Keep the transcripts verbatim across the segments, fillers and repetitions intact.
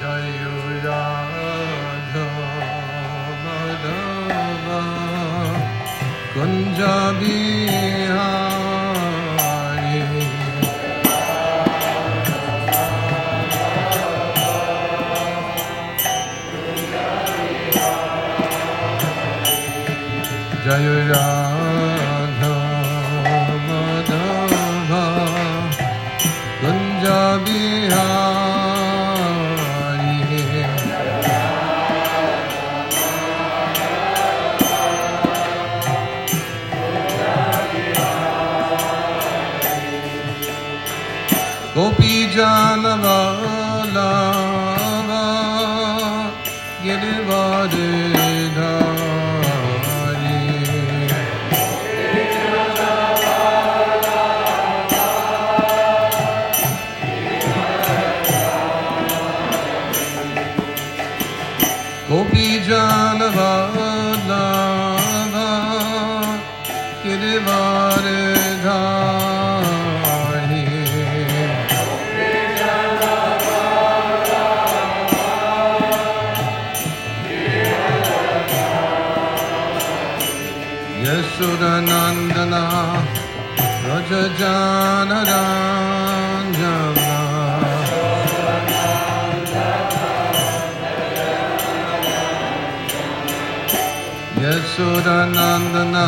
Yashodanandana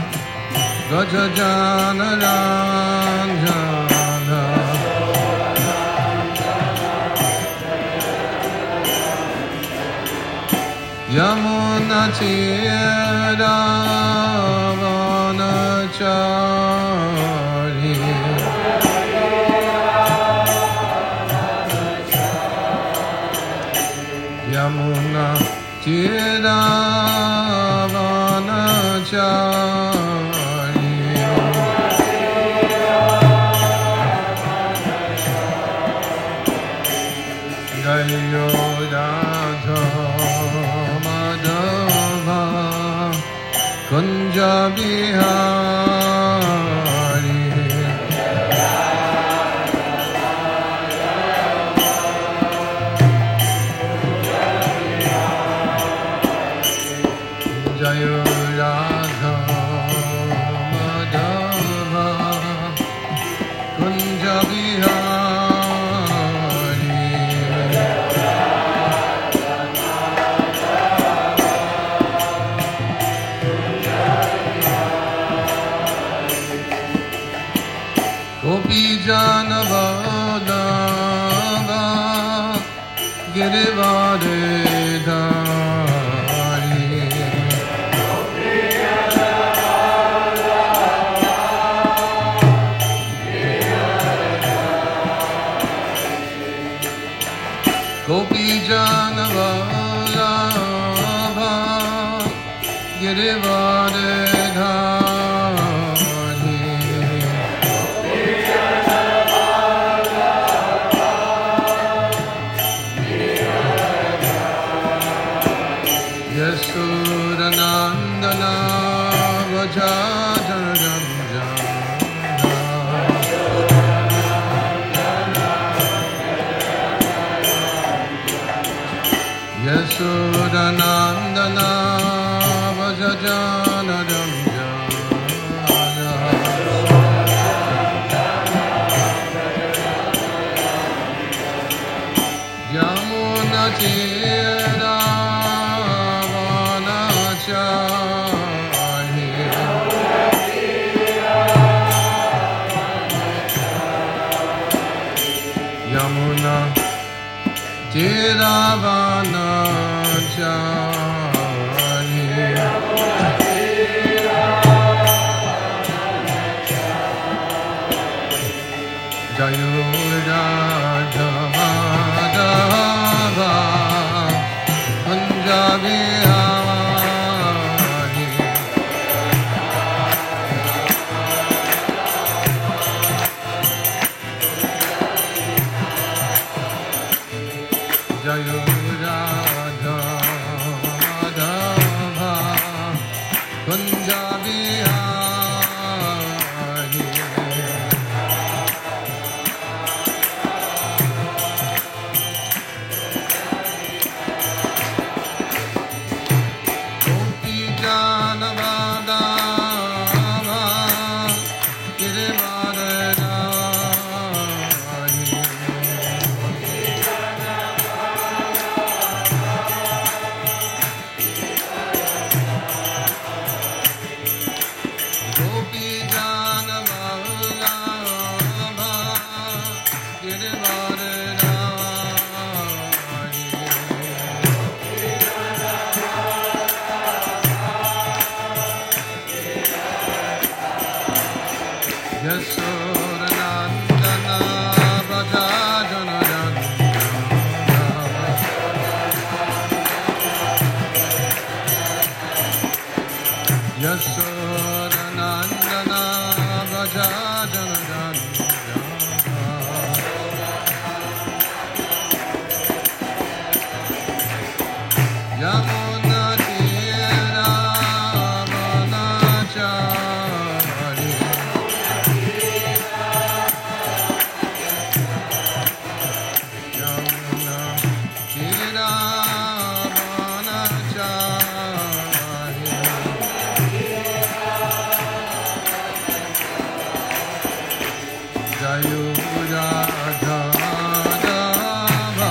Rajajana Ranjana Yamuna Chira Vanachari Yamuna Chira Jayo Radha Madhava Kunja Bihari Jayo Radha Madhava Kunja Bihari Janavadava Girivadidhari Gopi Janavadava Girivadidhari Yashodanandana Vajajana Yashodanandana Vajajana Yamuna Chira Yamuna Tiravana Chari Jayo Radha Madhava Punjabi Jayo Radha Madhava Punjabi Hari Yashodanandana Braja Janaranda Yashodanandana Braja Janaranda Yamuna Tira Manachari Yamuna Tira Manachari Jayu Radha Dava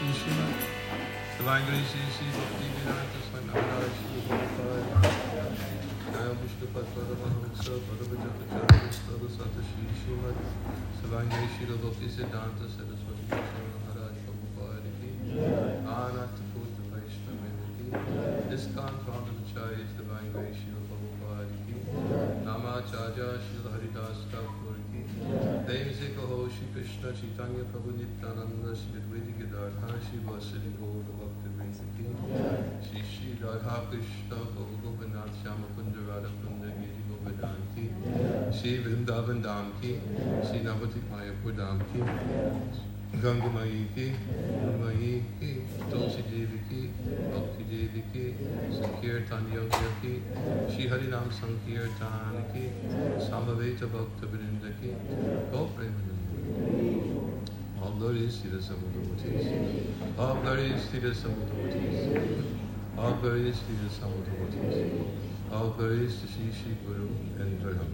Shri Srimad Savangari Shri Shri Bhakti Vedanta Swami Maharaj Shri Prabhupada Naya Vishnu Padpada Mahamsa Padavajapacharya Stada Sata Shri Srimad Savangari Shri Bhakti Siddhanta Saraswati Swami Maharaj Prabhupada Ki Ananta Putra Vaishnava Ki Iskan Pramacharya Savangari Shri Prabhupada Ki Namacharya Shri Haridas Thakur Ki Devsi Kaho Shri Krishna Chaitanya Prabhu Nityananda Shri Advaita Gadadhar Shri Vasudeva Gaura Bhakta Vrinda Ki Shri Shri Radha Krishna Prabhu Govinath Shama Kunda Radha Kunda Giri Govardhan Ki Shri Vrindavan Dham Ki Shri Navatik Mayapur Dham Ki Ganga Mayi Ki Mayi Ki Tulsi Devi Ki Bhakti Devi Ki Sankirtan Yogya Ki Shri Harinam Sankirtan Ki Samaveta Bhakta Vrinda Ki Gopremana All glories to the Samudravatis. All glories to the Samudravatis. All glories to the Samudravatis. All glories to Shri Shri Guru and Brahma.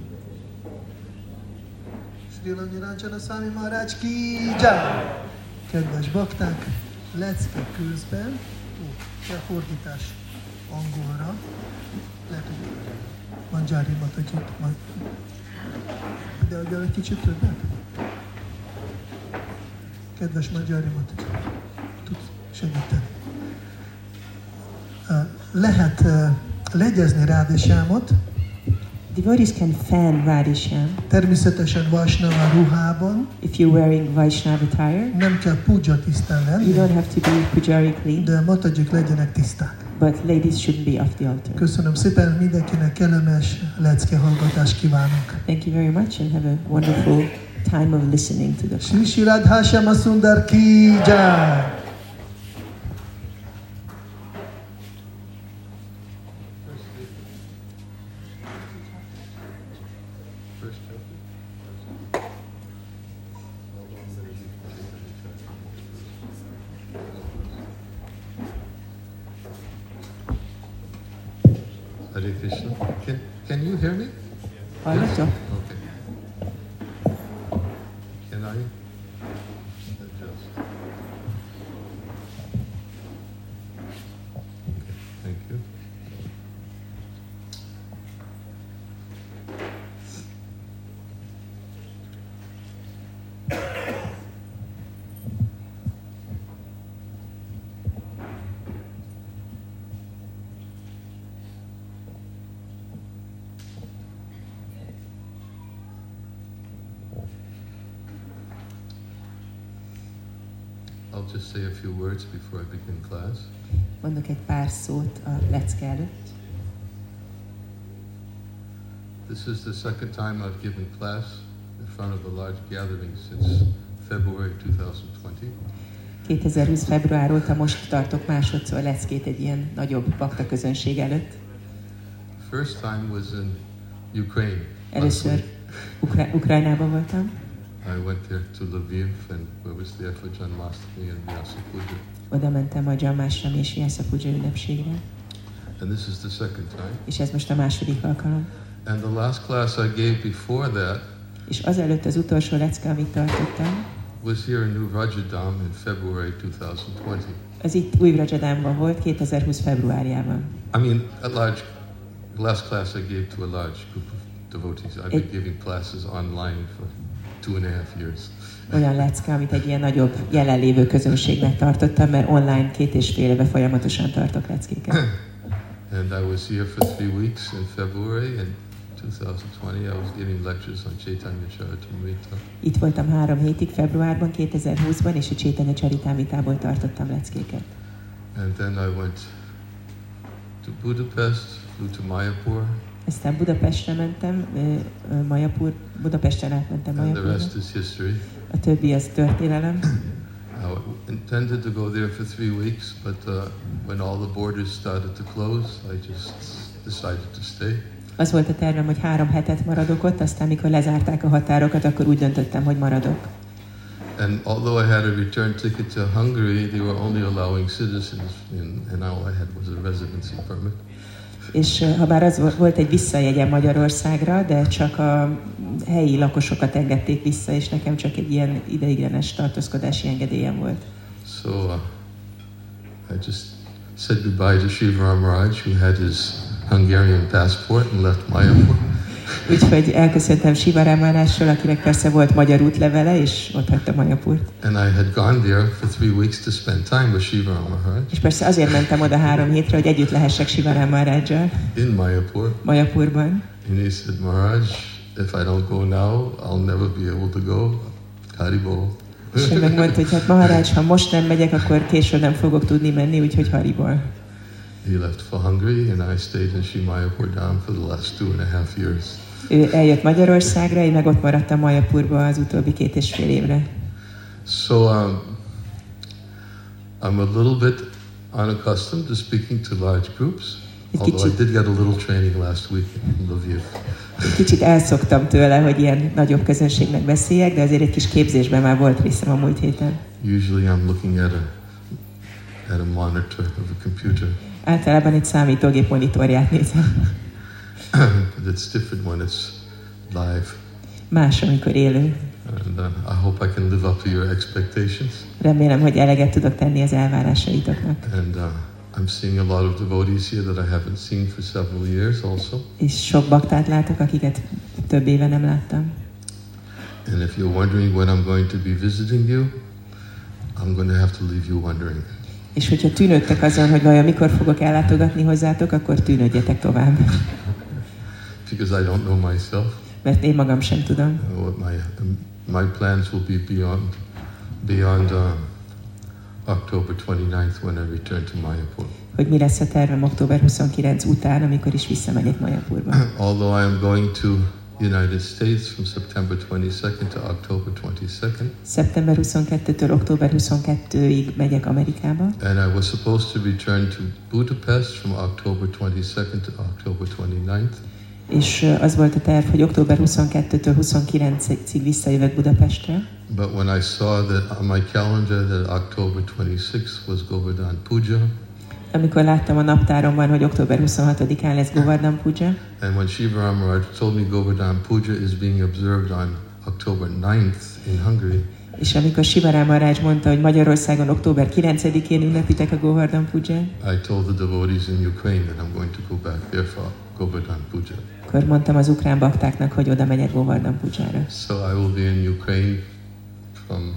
Sri Langirancsana Swami Maharaj ki jai! Kedves bakták, lecke közben, ó, kell fordítás angolra, lehet, hogy Manjari Matagyit, majd ide adjál egy kicsit többet. Kedves Manjari Matagyit, tudsz segíteni. Lehet legyezni Rádésyámot, Devotees can fan Radhishyam. Természetesen Vaishnava ruhában. If you're wearing Vaishnava attire, nem kell puja tisztán lenni. you don't have to be pujari clean, de Matagyik legyenek tiszták. but ladies shouldn't be off the altar. Köszönöm szépen, mindenkinek kellemes lecke hallgatást kívánok. Thank you very much and have a wonderful time of listening to the Shri Shri Radha Shyama Sundar ki jai! Hare Krishna. Can, can you hear me? Hallottok? Okay. Can I adjust? Okay, thank you. I'll just say a few words before I begin class. Mondok egy pár szót a lecke előtt. This is the second time I've given class in front of a large gathering since February twenty twenty. kétezer-húsz február óta most tartok másodszor leckét egy ilyen nagyobb bakta közönség előtt. The first time was in Ukraine. Először Ukra- Ukrajnában voltam. I went there to Lviv and I was there for Janmashtami and Vyasa Puja. Oda mentem a Janmashtami és Vyasa Puja ünnepségre. And this is the second time. És ez most a második alkalom. And the last class I gave before that És azelőtt az utolsó lecke, amit tartottam, was here in New Rajadam in February twenty twenty. az itt új Rajadamban volt kétezer-húsz februárjában. I mean, a large, the last class I gave to a large group of devotees. I've been giving classes online for two and a half years. Olyan lecke, amit egy ilyen nagyobb jelenlévő közönségnek tartottam, mert online két és fél éve folyamatosan tartok leckéket. And I was here for three weeks in February and twenty twenty. I was giving lectures on Chaitanya Charitamrita. Itt voltam három hétig februárban, kétezer-húszban, és a Chaitanya Charitamritából tartottam leckéket. And then I went to Budapest, flew to Mayapur. Aztán Budapestre mentem, Mayapur, Budapesten átmentem And the Mayapurra. rest is history. A többi az történelem. I intended to go there for three weeks, but uh, when all the borders started to close, I just decided to stay. Az volt a tervem, hogy három hetet maradok ott, aztán mikor lezárták a határokat, akkor úgy döntöttem, hogy maradok. And although I had a return ticket to Hungary, they were only allowing citizens in, and all I had was a residency permit. És ha bár az volt egy visszajegyem Magyarországra, de csak a helyi lakosokat engedték vissza, és nekem csak egy ilyen ideiglenes tartózkodási engedélyem volt. So uh, I just said goodbye to Shivaram Maharaj, who had his Hungarian passport and left Mayapur. Úgyhogy elköszöntem Shivaram Maharajtól, akinek persze volt magyar útlevele, és ott hagyta Mayapurt. And I had gone there for three weeks to spend time with Shivaram Maharaj. És persze azért mentem oda három hétre, hogy együtt lehessek Shivaram Maharajjal. In Mayapur. Mayapurban. And he said, Maharaj, if I don't go now, I'll never be able to go. Haribol. És ő megmondta, hogy hát Maharaj, ha most nem megyek, akkor később nem fogok tudni menni, úgyhogy Haribol. He left for Hungary, and I stayed in Sri Mayapur down for the last two and a half years. Ő eljött Magyarországra, én meg ott maradtam Mayapurba az utóbbi két és fél évre. So um, I'm a little bit unaccustomed to speaking to large groups, although I did get a little training last week in Lviv. Kicsit elszoktam tőle, hogy ilyen nagyobb közönségnek beszéljek, de azért egy kis képzésben már volt részem a múlt héten. Usually I'm looking at a at a monitor of a computer. Általában egy számítógép monitorját nézem. But it's different when it's live. Más, amikor élő. And uh, I hope I can live up to your expectations. Remélem, hogy eleget tudok tenni az elvárásaitoknak. And uh, I'm seeing a lot of devotees here that I haven't seen for several years also. És sok baktát látok, akiket több éve nem láttam. And if you're wondering when I'm going to be visiting you, I'm going to have to leave you wondering. És hogyha tűnődtek azon, hogy vajon mikor fogok ellátogatni hozzátok, akkor tűnődjetek tovább. Because I don't know myself. Mert én magam sem tudom. What my my plans will be beyond beyond uh, October twenty-ninth when I return to Mayapur. Hogy mi lesz a tervem október huszonkilenc után, amikor is visszamegyek Mayapurba. Although I am going to United States from September twenty-second to October twenty-second. Szeptember huszonkettőtől október huszonkettőig megyek Amerikába. And I was supposed to return to Budapest from October twenty-second to October twenty-ninth. És az volt a terv, hogy október huszonkettőtől huszonkilencig visszajövök Budapestre. But when I saw that on my calendar that October twenty-sixth was Govardhan Puja. Amikor láttam a naptáromban, hogy október huszonhatodikán lesz Govardhan Puja. And when Shivaram Maharaj told me Govardhan Puja is being observed on October ninth in Hungary. És amikor Shivaram Maharaj mondta, hogy Magyarországon október kilencedikén ünnepitek a Govardhan Puját, I told the devotees in Ukraine that I'm going to go back there for Govardhan Puja. akkor mondtam az ukrán baktáknak, hogy oda megyek Govardhan Pujára. So I will be in Ukraine from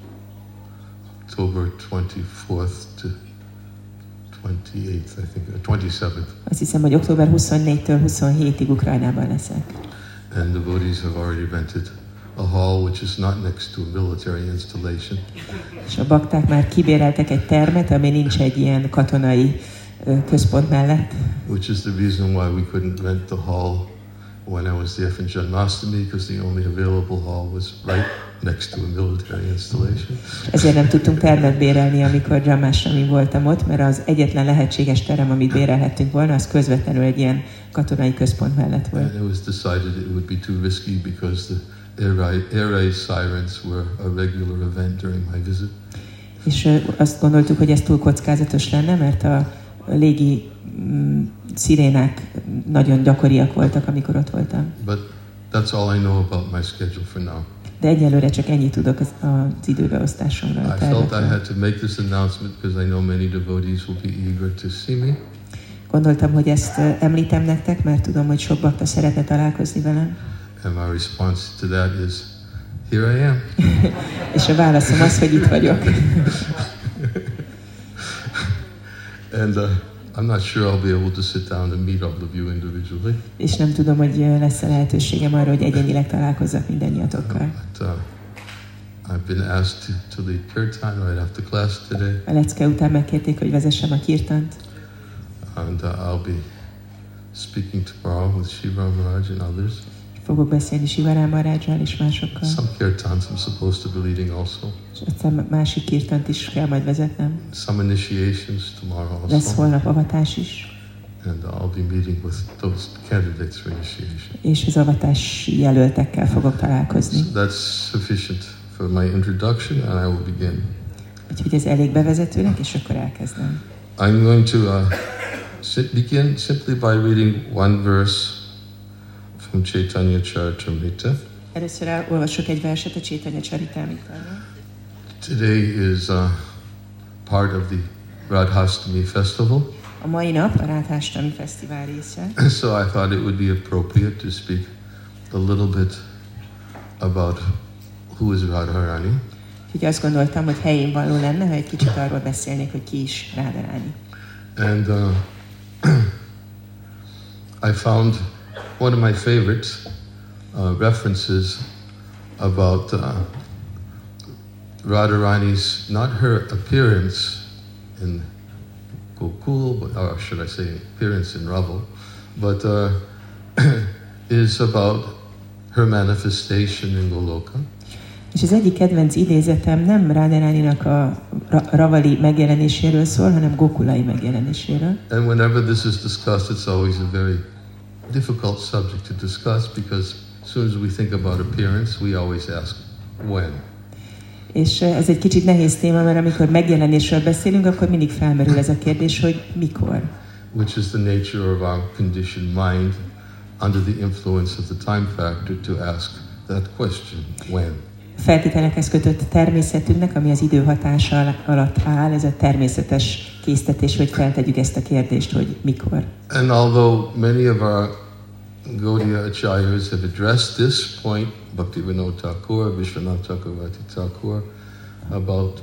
October twenty-fourth to twenty-eighth, I think, or twenty-seventh. Azt hiszem, hogy október huszonnégytől huszonhétig Ukrajnában leszek. And devotees have already rented a hall which is not next to a military installation. És a bakták már kibéreltek egy termet, ami nincs egy ilyen katonai ö, központ mellett. Which is the reason why we couldn't rent the hall when I was there for Janmashtami, because the only available hall was right next to a military installation. Ezért nem tudtunk termet bérelni, amikor Janmashtami voltam ott, mert az egyetlen lehetséges terem, amit bérelhettünk volna, az közvetlenül egy ilyen katonai központ mellett volt. And it was decided it would be too risky because the air raid, air raid sirens were a regular event during my visit. És ö, azt gondoltuk, hogy ez túl kockázatos lenne, mert a légi mm, szirénák nagyon gyakoriak voltak, amikor ott voltam. But that's all I know about my schedule for now. De egyelőre csak ennyit tudok az, az időbeosztásomról. I felt I had to make this announcement because I know many devotees will be eager to see me. Gondoltam, hogy ezt ö, említem nektek, mert tudom, hogy sok bakta szeretne találkozni velem. And my response to that is, here I am. És a válaszom az, hogy itt vagyok. And uh, I'm not sure I'll be able to sit down and meet all of you individually. És nem tudom, hogy lesz a lehetőségem arra, hogy egyenileg találkozzak mindannyiatokkal. But uh, I've been asked to, to lead kirtan right after class today. A lecke után megkérték, hogy vezessem a kirtant. And uh, I'll be speaking tomorrow with Shivaram Maharaj and others. Fogok beszélni Shivaram Maharajjal és másokkal. Some kirtans I'm supposed to be leading also. És aztán másik kirtant is kell majd vezetnem. Some initiations tomorrow Lesz also. holnap avatás is. And I'll be meeting with those candidates for initiation. És az avatási jelöltekkel fogok találkozni. So that's sufficient for my introduction, and I will begin. Úgyhogy ez elég bevezetőnek, és akkor elkezdem. I'm going to uh, si- begin simply by reading one verse from Chaitanya Charitamrita. Először olvasok egy verset a Chaitanya Charitamritáról. Today is uh, part of the Radhastami festival. A mai nap a Radhastami Fesztivál része. So I thought it would be appropriate to speak a little bit about who is Radharani. Úgyhogy azt gondoltam, hogy helyén való lenne, ha egy kicsit arról beszélnék, hogy ki is Radharani. And uh, I found one of my favorite uh, references about uh, Radharani's, not her appearance in Gokul, but, or should I say appearance in Raval, but uh, is about her manifestation in Goloka. És az egyik kedvenc idézetem nem Radharaninak a Ravali megjelenéséről szól, hanem Gokulai megjelenéséről. And whenever this is discussed, it's always a very difficult subject to discuss because as soon as we think about appearance, we always ask when. És ez egy kicsit nehéz téma, mert amikor megjelenésről beszélünk, akkor mindig felmerül ez a kérdés, hogy mikor. Which is the nature of our conditioned mind under the influence of the time factor to ask that question, when. Feltételekhez kötött természetünknek, ami az idő hatása alatt áll, ez a természetes késztetés, hogy feltegyük ezt a kérdést, hogy mikor. And although many of our Gaudiya acharyas have addressed this point, Bhaktivinoda Thakur, Vishwanath Chakravarti Thakur, about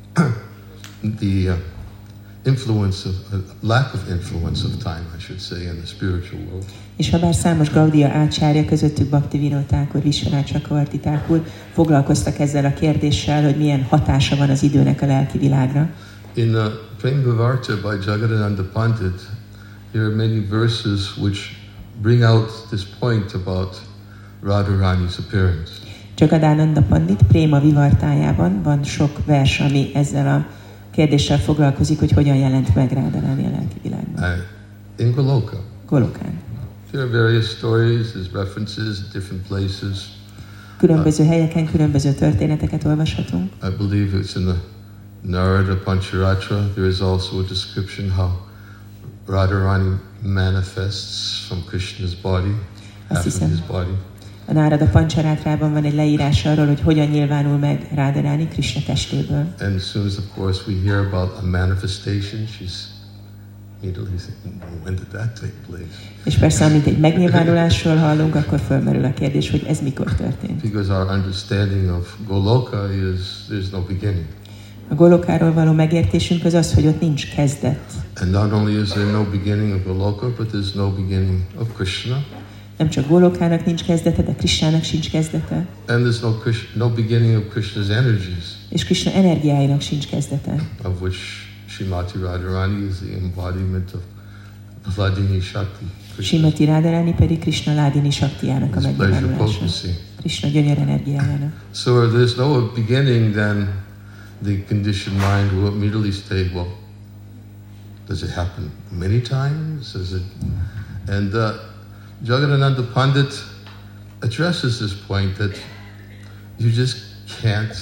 the uh, influence of, uh, lack of influence of time, I should say, in the spiritual world. És ha bár számos Gaudiya ácsárja, közöttük Bhaktivinoda Thakur, Vishwanath Chakravarti Thakur foglalkoztak ezzel a kérdéssel, hogy milyen hatása van az időnek a lelki világra. In uh, Prem Vivarta by Jagadananda Pandit, there are many verses which bring out this point about Radharani's appearance. Jagadananda Pandit Préma Vivartájában van sok vers, ami ezzel a kérdéssel foglalkozik, hogy hogyan jelent meg Radharani a lelki világban. Uh, in Goloka. Golokán. There are various stories, there's references in different places. Különböző helyeken különböző történeteket olvashatunk. I believe it's in the Narada Pancharatra. There is also a description how Radharani manifests from Krishna's body, half of his body. A Narada Pancharátrában van egy leírás arról, hogy hogyan nyilvánul meg Radharani Krishna testéből. And as soon as, of course, we hear about a manifestation, she's immediately saying, when did that take place? És persze, amint egy megnyilvánulásról hallunk, akkor fölmerül a kérdés, hogy ez mikor történt. Because our understanding of Goloka is there's no beginning. A Golokáról való megértésünk az az, hogy ott nincs kezdet. And not only is there no beginning of Goloka, but there's no beginning of Krishna. Nem csak Golokának nincs kezdete, de Krishnának sincs kezdete. And there's no Krishna, no beginning of Krishna's energies. És Krishna energiáinak sincs kezdete. Of which Srimati Radharani is the embodiment of Hladini Shakti. Srimati Radharani pedig Krishna Hladini Shaktijának a megnyilvánulása. Krishna gyönyör energiájának. So there's no beginning, then the conditioned mind will immediately say, well, does it happen many times? Does it? And uh, Jagadananda Pandit addresses this point that you just can't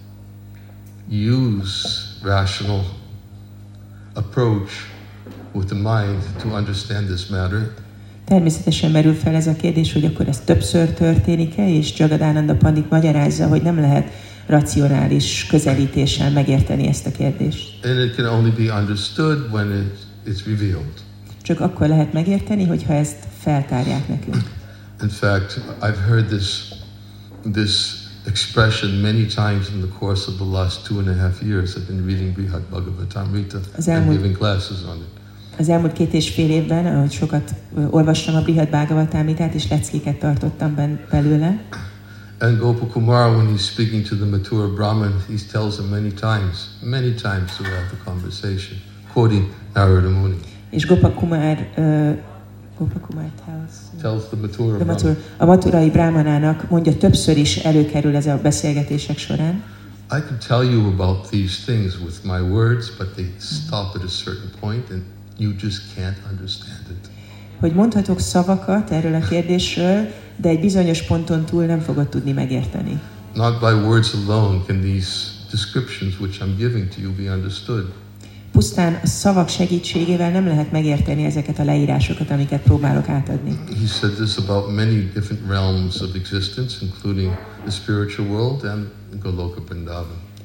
use rational approach with the mind to understand this matter. Természetesen merül fel ez a kérdés, hogy akkor ez többször történik-e, és Jagadananda Pandit magyarázza, hogy nem lehet racionális közelítéssel megérteni ezt a kérdést. And it can only be understood when it, it's revealed. Csak akkor lehet megérteni, hogyha ezt feltárják nekünk. In fact, I've heard this this expression many times in the course of the last two and a half years. I've been reading Brihad Bhagavatamrita and giving classes on it. Az elmúlt két és fél évben, ahogy sokat olvastam a Brihad Bhagavatamritát, és leckéket tartottam belőle. And Gopakumar, when he's speaking to the Mathura Brahmin, he tells him many times, many times throughout the conversation, quoting Narada Muni. És Gopakumar, uh, Gopakumar tells, tells the Mathura the Mathura, Brahmin. a Mathurai Brahmanának mondja, többször is előkerül ez a beszélgetések során. I could tell you about these things with my words, but they stop at a certain point and you just can't understand it. Hogy mondhatok szavakat erről a kérdésről, de egy bizonyos ponton túl nem fogod tudni megérteni. Not by words alone can these descriptions which I'm giving to you be understood. Pusztán a szavak segítségével nem lehet megérteni ezeket a leírásokat, amiket próbálok átadni. He said this about many different realms of existence, including the spiritual world and Goloka Vrindavan.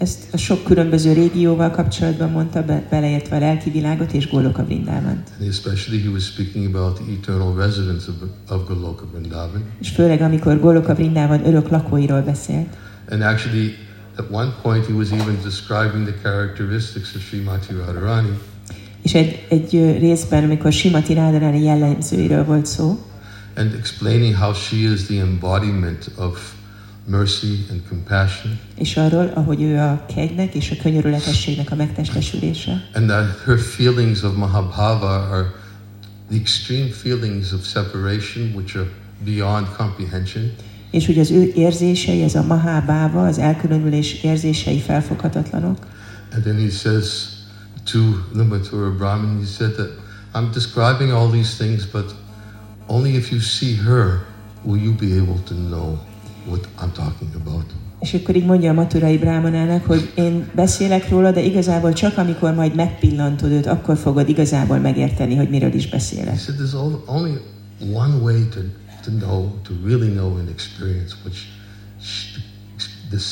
Ezt a sok különböző régióval kapcsolatban mondta, be, beleértve a lelki világot és Goloka Vrindávant. And especially he was speaking about the eternal residents of, of Goloka Vrindavan. És főleg amikor Goloka Vrindávan örök lakóiról beszélt. And actually, at one point he was even describing the characteristics of Srimati Radharani. És egy, egy részben, amikor Srimati Radharani jellemzőiről volt szó, and explaining how she is the embodiment of mercy and compassion. És arról, ahogy ő a kegynek és a könyörületességnek a megtestesülése. And that her feelings of Mahabhava are the extreme feelings of separation which are beyond comprehension. És hogy az ő érzései, ez a Mahabhava, az elkülönülés érzései felfoghatatlanok. And then he says to the Mathura Brahmin, he said that I'm describing all these things, but only if you see her will you be able to know what I'm talking about. És akkor így mondja a maturai brámanának, hogy én beszélek róla, de igazából csak amikor majd megpillantod őt, akkor fogod igazából megérteni, hogy miről is beszélek. He said there's only one way to, to know, to really know and experience which she, this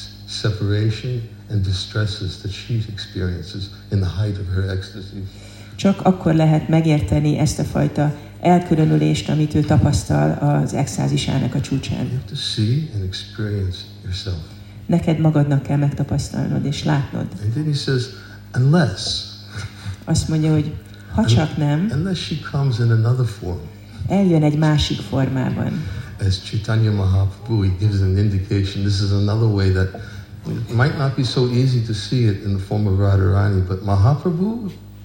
separation and distresses that she experiences in the height of her ecstasy. Csak akkor lehet megérteni ezt a fajta elkülönülést, amit ő tapasztal az extázisának a csúcsán. You have to see and experience yourself. Neked magadnak kell megtapasztalnod és látnod. And then he says, unless, azt mondja, hogy ha csak nem, unless she comes in another form. Eljön egy másik formában. As Chaitanya Mahaprabhu, he gives an indication. This is another way that it might not be so easy to see it in the form of Radharani, but Mahaprabhu,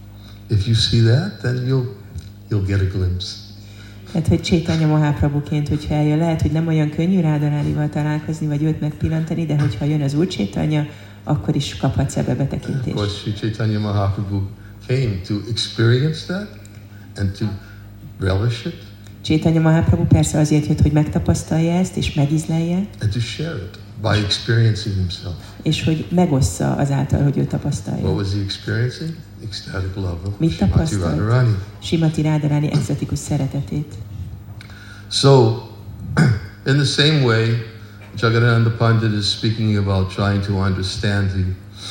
if you see that, then you'll you'll get a glimpse. Tehát, hogy Chaitanya Mahaprabhuként, hogyha eljön, lehet, hogy nem olyan könnyű Radharanival találkozni, vagy őt megpillantani, de hogyha jön az Úr Chaitanya, akkor is kaphatsz ebbe betekintést. Of course, Sri Chaitanya Mahaprabhu came to experience that and to relish it. Chaitanya Mahaprabhu persze azért jött, hogy megtapasztalja ezt, és megízlelje. And to share it by experiencing himself. És hogy megossza azáltal, hogy ő tapasztalja. What was he experiencing? Ecstatic love of Mit Srimati tapasztalt? Radharani. Srimati Radharani extatikus szeretetét. So, in the same way, Jagadananda Pandit is speaking about trying to understand the,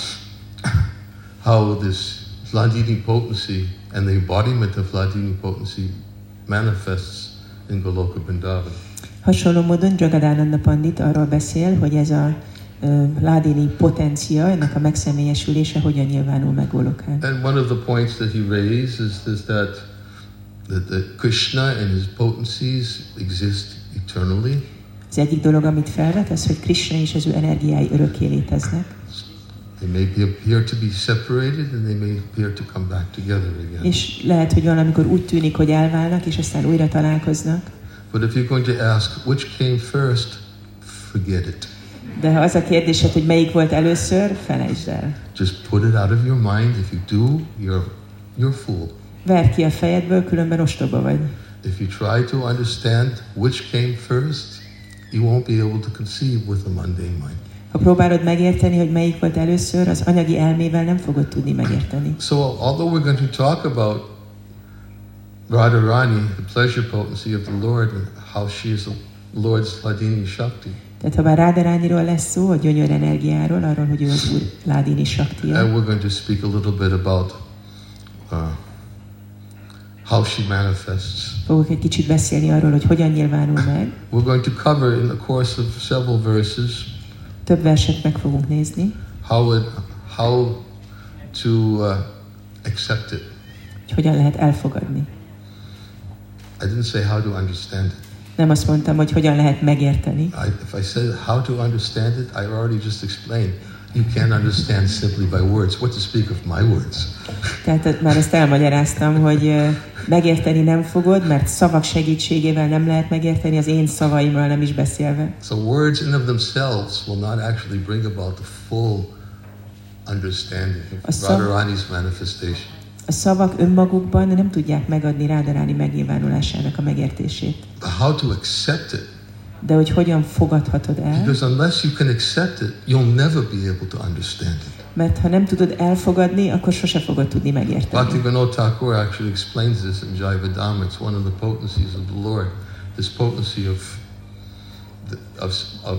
how this Hladini potency and the embodiment of Hladini potency manifests in Goloka Vrindavan. Hasonló módon Jagadananda Pandit arról beszél, hogy ez a uh, Hladini potencia, ennek a megszemélyesülése hogyan nyilvánul meg Golokán. And one of the points that he raised is, is that, that the Krishna and his potencies exist eternally. Az egyik dolog, amit felvet, az, hogy Krishna és az ő energiái örökké léteznek. They may be, appear to be separated and they may appear to come back together again. És lehet, hogy valamikor úgy tűnik, hogy elválnak, és aztán újra találkoznak. But if you're going to ask which came first, forget it. De ha az a kérdésed, hogy melyik volt először, felejtsd el. Just put it out of your mind. If you do, you're you're fool. Verd ki a fejedből, különben ostoba vagy. If you try to understand which came first, you won't be able to conceive with a mundane mind. Ha próbálod megérteni, hogy melyik volt először, az anyagi elmével nem fogod tudni megérteni. So, although we're going to talk about Radharani, the pleasure potency of the Lord, and how she is the Lord's Hladini Shakti. Tehát ha bár Radharaniról lesz szó, a gyönyör energiáról, arról, hogy ő az Úr Hladini Shaktia. And we're going to speak a little bit about uh, how she manifests. Fogok egy kicsit beszélni arról, hogy hogyan nyilvánul meg. We're going to cover in the course of several verses Több verset meg fogunk nézni, how it, how to uh, accept it. hogy hogyan lehet elfogadni. I didn't say how to understand it. Nem azt mondtam, hogy hogyan lehet megérteni. I, if I said how to understand it, I already just explained. You can't understand simply by words. What to speak of my words? Tehát már ezt elmagyaráztam, hogy uh, megérteni nem fogod, mert szavak segítségével nem lehet megérteni, az én szavaimról nem is beszélve. So words in of themselves will not actually bring about the full understanding of szav- Radharani's manifestation. A szavak önmagukban nem tudják megadni Radharani megnyilvánulásának a megértését. But how to accept it? De hogy hogyan fogadhatod el? Because unless you can accept it, you'll never be able to understand it. Mert ha nem tudod elfogadni, akkor sose fogod tudni megérteni. Bhaktivinoda Thakur actually explains this in Jayavadama. It's one of the potencies of the Lord. This potency of, the, of, of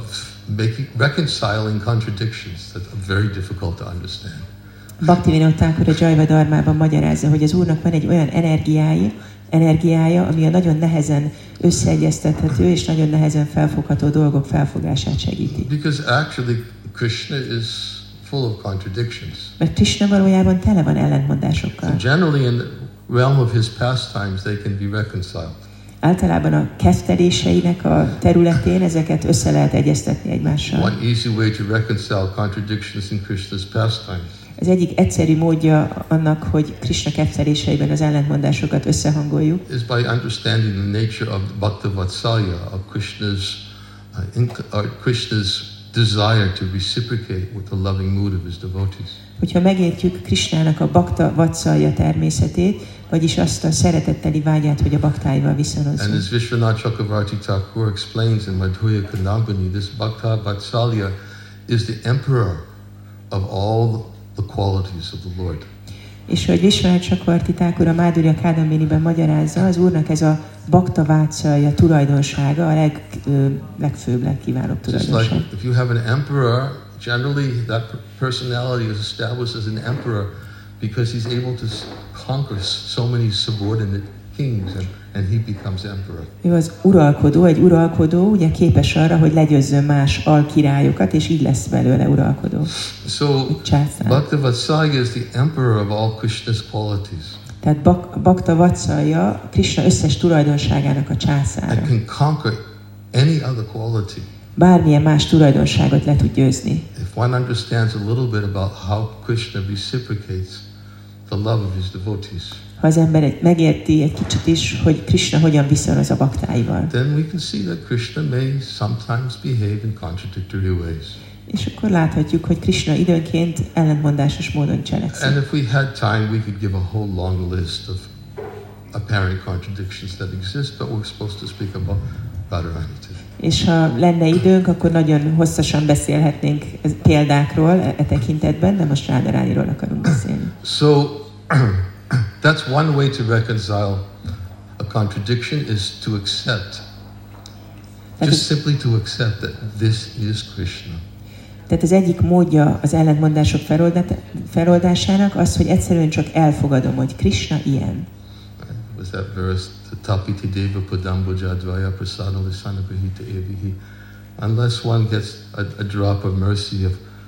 making, reconciling contradictions that are very difficult to understand. Bhaktivinoda Thakur a Jaiva Dharmában magyarázza, hogy az Úrnak van egy olyan energiája, energiája, ami a nagyon nehezen összeegyeztethető és nagyon nehezen felfogható dolgok felfogását segíti. Because actually Krishna is full of contradictions. Mert Krishna valójában tele van ellentmondásokkal. So generally in the realm of his pastimes they can be reconciled. Általában a ketteléseinek a területén ezeket össze lehet egyeztetni egymással. One easy way to reconcile contradictions in Krishna's pastimes Az egyik egyszerű módja annak, hogy Krishna ketteléseiben az ellentmondásokat összehangoljuk, is by understanding the nature of Bhakta Vatsalya, of Krishna's, uh, inc- or Krishna's desire to reciprocate with the loving mood of his devotees. hogyha megértjük Krishnának a Bhakta Vatsalya természetét, vagyis azt a szeretetteli vágyát, hogy a baktáival And viszonozzon. as Vishwanath Chakravarti Thakur explains in Madhurya Kanambani, this Bhakta Vatsalya is the emperor of all the qualities of the Lord. És hogy Vishwanath Chakravarti Thakur a Madhurya Kadambiniben magyarázza, az Úrnak ez a Bhakta Vatsalya tulajdonsága, a leg, ö, legfőbb, legkiválóbb Just like tulajdonság. if you have an emperor, generally that personality is established as an emperor because he's able to s- conquer so many subordinate kings and, and he becomes emperor. Ő az uralkodó, egy uralkodó, ugye képes arra, hogy legyőzzön más alkirályokat, és így lesz belőle uralkodó. So Császár. Bhakta Vatsalya is the emperor of all Krishna's qualities Tehát Bak- Bhakta Vatsalya Krishna összes tulajdonságának a császára. and can conquer any other quality. Bármilyen más tulajdonságot le tud győzni. If one understands a little bit about how Krishna reciprocates the love of his devotees, Ha az ember egy, megérti egy kicsit is, hogy Krishna hogyan viszonoz a baktáival. then we can see that Krishna may sometimes behave in contradictory ways. És akkor láthatjuk, hogy Krishna időnként ellentmondásos módon cselekszik. And if we had time, we could give a whole long list of apparent contradictions that exist, but we're supposed to speak about Radharani today. És ha lenne időnk, akkor nagyon hosszasan beszélhetnénk ez- példákról e, e tekintetben, de most Radharániról akarunk beszélni. So that's one way to reconcile a contradiction is to accept, Tehát, just simply to accept that this is Krishna. tehát az egyik módja az ellentmondások feloldát- feloldásának az, hogy egyszerűen csak elfogadom, hogy Krishna ilyen. Was that verse, Tapiti Deva Padambojadvaya Prasada Lisana Grahita Evihi. Unless one gets a, a drop of mercy of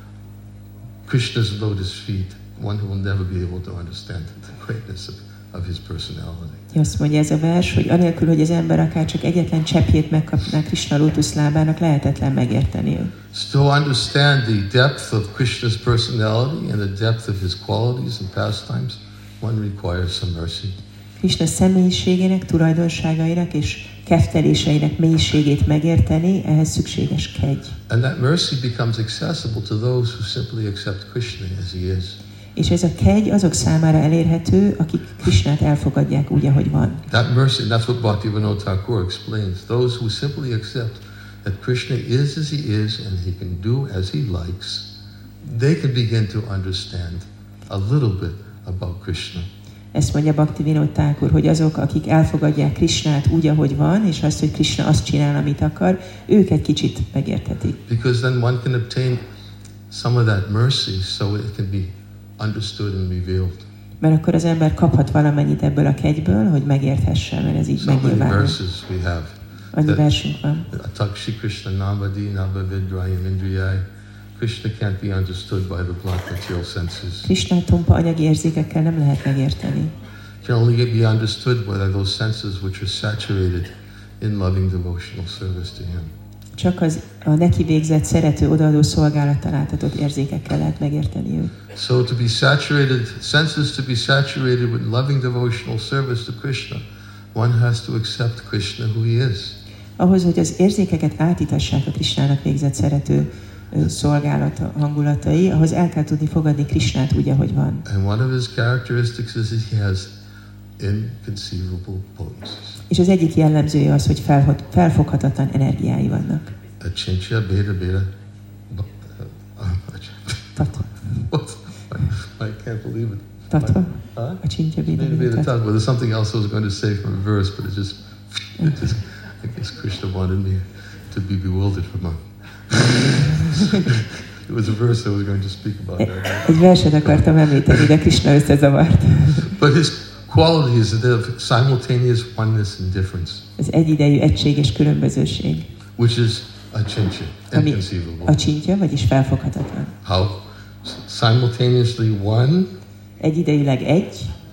Krishna's lotus feet, one will never be able to understand the greatness of, of his personality. Azt mondja ez a vers, hogy anélkül, hogy az ember akár csak egyetlen cseppjét megkapná Krishna lótuszlábának, lehetetlen megérteni őt. So to understand the depth of Krishna's personality and the depth of his qualities and pastimes, one requires some mercy. Krishna személyiségének, tulajdonságainak és kefteléseinek mélységét megérteni, ehhez szükséges kegy. And that mercy becomes accessible to those who simply accept Krishna as he is. És ez a kegy azok számára elérhető, akik Krishnát elfogadják úgy, ahogy van. That mercy, that's what Bhaktivinoda Thakur explains. Those who simply accept that Krishna is as he is and he can do as he likes, they can begin to understand a little bit about Krishna. Ezt mondja Bhaktivinoda Thakur, hogy azok, akik elfogadják Krishnát úgy, ahogy van, és azt, hogy Krishna azt csinál, amit akar, ők egy kicsit megérthetik. Because then one can obtain some of that mercy so it can be understood and revealed. Mert akkor az ember kaphat valamennyit ebből a kegyből, hogy megérthesse, mert ez így So many megnyilvánul. verses we have. Annyi that- versünk van. Atakshi Krishna Navadi Navavidrayam Indriyai. Krishna can't be understood by the blunt material senses. Krishnát tompa anyagi érzékekkel nem lehet megérteni. Can only be understood by those senses which are saturated in loving devotional service to Him. Csak az a neki végzett, szerető, odaadó szolgálattal átadott érzékekkel lehet megérteni őt. So to be saturated, senses to be saturated with loving devotional service to Krishna, one has to accept Krishna who He is. Ahhoz, hogy az érzékeket átitassák a Krishnának végzett szerető ö, szolgálat hangulatai, ahhoz el kell tudni fogadni Krishnát úgy, ahogy van. And one of His characteristics is that He has inconceivable potencies. És az egyik jellemzője az, hogy felhot, felfoghatatlan energiái vannak. Achincha beta beta. Tatva. What? I can't believe it. Tatva? Huh? A csintja Beta beta védelmi tatva. Well, there's something else I was going to say from a verse, but it just, it just, I guess Krishna wanted me to be bewildered from a, It was a verse I was going to speak about that. Egy verset akartam említeni, de Krishna összezavart. But his quality is that of simultaneous oneness and difference, Az egyidejű egység és különbözőség, which is achincha, ami inconceivable. acsintja, vagyis felfoghatatlan. How simultaneously one Egyidejűleg egy,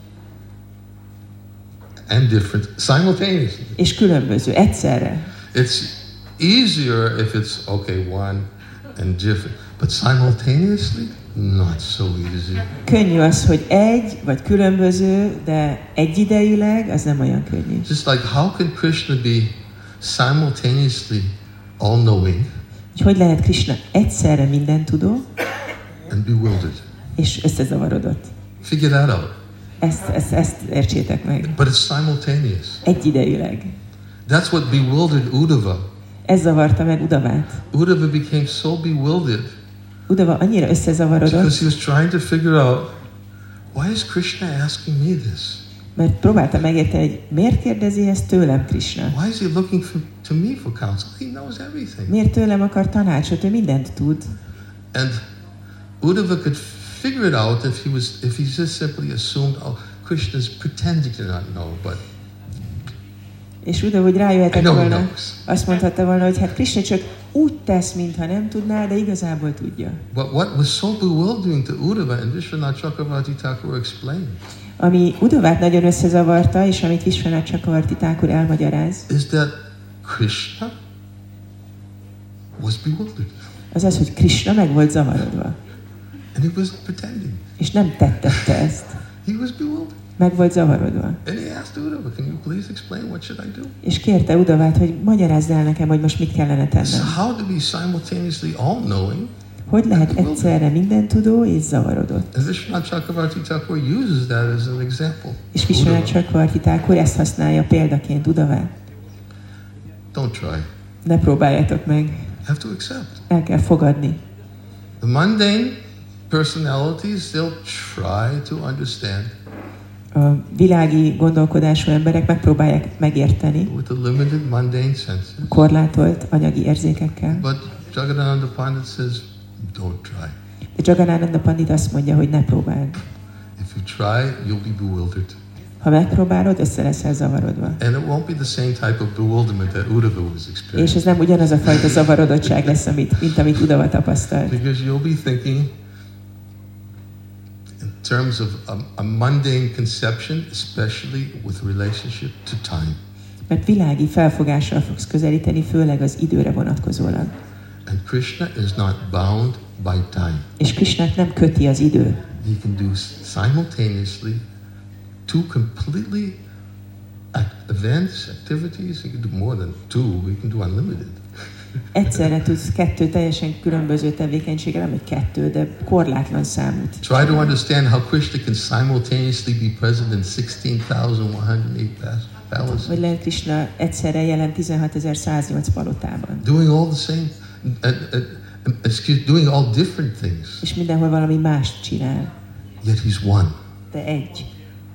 and different simultaneously. és különböző, egyszerre. It's easier if it's okay, one and different, but simultaneously, not so easy. Könnyű az, hogy egy, vagy különböző, de egyidejűleg, az nem olyan könnyű. Just like how can Krishna be simultaneously all-knowing Hogy hogy lehet Krishna egyszerre mindentudó, and bewildered? és összezavarodott. Figure that out. Ezt, ezt, ezt értsétek meg. But it's simultaneous. Egyidejűleg. That's what bewildered Uddhava. Ez zavarta meg Udavát. Uddhava became so bewildered Udava annyira összezavarodott, because he was trying to figure out, why is Krishna asking me this? mert próbálta megérteni, hogy miért kérdezi ezt tőlem Krishna. Why is he looking for, to me for counsel? He knows everything. Miért tőlem akar tanácsot, ő mindent tud. And Uddhava could figure it out if he was, if he just simply assumed, oh, Krishna's pretending to not know, but És Udava úgy rájöhetett I know he volna, knows. azt mondhatta volna, hogy hát Krishna csak úgy tesz, mintha nem tudná, de igazából tudja. But what was so bewildering to Uddhava, and Vishwanath Chakravarti Thakur explained, Ami Udavát nagyon összezavarta, és amit Vishwanath Chakravarti Thakur elmagyaráz, is that Krishna was bewildered. az az, hogy Krishna meg volt zavarodva. And he wasn't pretending. És nem tettette ezt. He was bewildered. Meg volt zavarodva. And he asked Uddhava, can you please explain what should I do? És kérte Udavát, hogy magyarázd el nekem, hogy most mit kellene So tennem. how to be simultaneously all-knowing? Hogy lehet egyszerre mindentudó és zavarodott? And Vishwanath Chakravarti Thakur uses that as an example. És Vishwanath Uddhava. Chakravarti Thakur ezt használja példaként Udavát. Don't try. Ne próbáljátok meg. You have to accept. El kell fogadni. The mundane personalities, they'll try to understand A világi gondolkodású emberek megpróbálják megérteni with the limited mundane senses. korlátolt anyagi érzékekkel. But Jagadananda Pandit says, don't try. De Jagadananda Pandit azt mondja, hogy ne próbáld. If you try, you'll be bewildered. Ha megpróbálod, össze leszel zavarodva. And it won't be the same type of bewilderment that Uddhava was És experiencing. ez nem ugyanaz a fajta zavarodottság lesz, amit, mint amit Udava tapasztalt. Because you'll be thinking in terms of a, a mundane conception, especially with relationship to time. Mert világi felfogással fogsz közelíteni, főleg az időre vonatkozólag. And Krishna is not bound by time. És Krishnát nem köti az idő. He can do simultaneously two completely act- events, activities. He can do more than two. He can do unlimited. Egyszerre tudsz kettő teljesen különböző tevékenységgel, nem egy kettő, de korlátlan számút. Try to understand how Krishna can simultaneously be present in sixteen thousand one hundred eight palaces. Hogy lehet Krishna egyszerre jelen tizenhatezer-száznyolc palotában. Doing all the same, uh, uh, excuse, doing all different things. És mindenhol valami mást csinál. Yet he's one. De egy.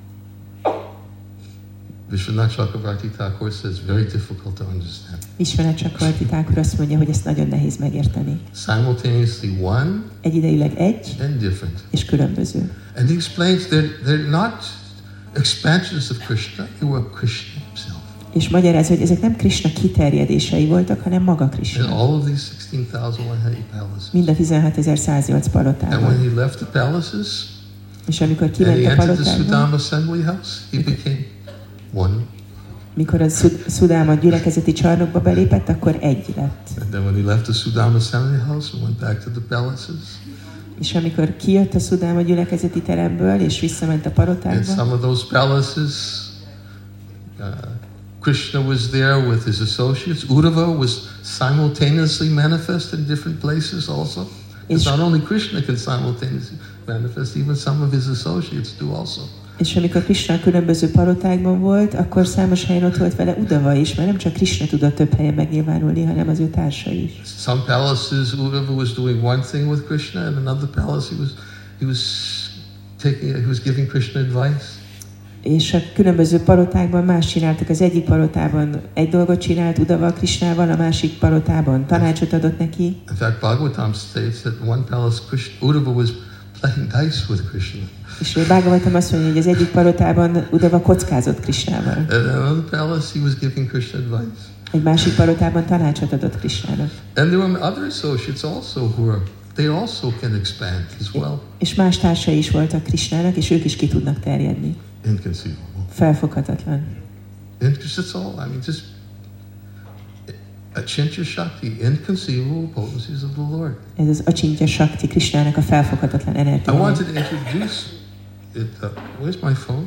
Vishwanath Chakravarti Thakur says very difficult to understand. Vishwanath Chakravarti Thakur azt mondja, hogy ezt nagyon nehéz megérteni. Simultaneously one Egyidejűleg egy and different. és különböző. And he explains that they're not expansions of Krishna, they were Krishna himself. És magyaráz, hogy ezek nem Krishna kiterjedései voltak, hanem maga In Krishna. all of these sixteen thousand one hundred eight palaces. Mind a tizenhatezer-száznyolc And when palotában. he left the palaces És amikor and kiment he a entered the palotába, Sudama assembly house, he became one. mikor a Szud- Szudáma gyülekezeti csarnokba belépett, akkor egy lett. And then when he left the Sudama assembly house and went back to the palaces, És amikor kijött a Szudáma gyülekezeti teremből, és visszament a in palotába, some of those palaces, uh, Krishna was there with his associates. Uddhava was simultaneously manifest in different places also. It's not only Krishna can simultaneously manifest, even some of his associates do also. és amikor Krishna a különböző palotákban volt, akkor számos helyen ott volt vele Uddhava is, mert nem csak Krishna tudott több helyen megnyilvánulni, hanem az ő társai is. Some palaces, Uddhava was doing one thing with Krishna, and another palace he was he was taking he was giving Krishna advice. És a különböző palotákban más csináltak. Az egyik palotában egy dolgot csinált Udava Krishnával, a másik palotában tanácsot adott neki. In fact, Bhagavatam states that one palace, Krishna, Uddhava was playing dice with Krishna. És Bhagavatam azt mondja, hogy az egyik palotában Udava kockázott Krishnával. And in another palace, he was giving Krishna advice. Egy másik palotában tanácsot adott Krishnának. And there were other associates also who were, they also can expand as well. És más társai is voltak Krishnának, és ők is ki tudnak terjedni. Inconceivable. Felfoghatatlan. And that's all. I mean, just Achintya Shakti, inconceivable potencies of the Lord. Ez az Achintya Shakti, Krishnának a felfoghatatlan I energiája. wanted to introduce it. Uh, where's my phone?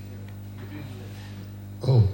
Oh.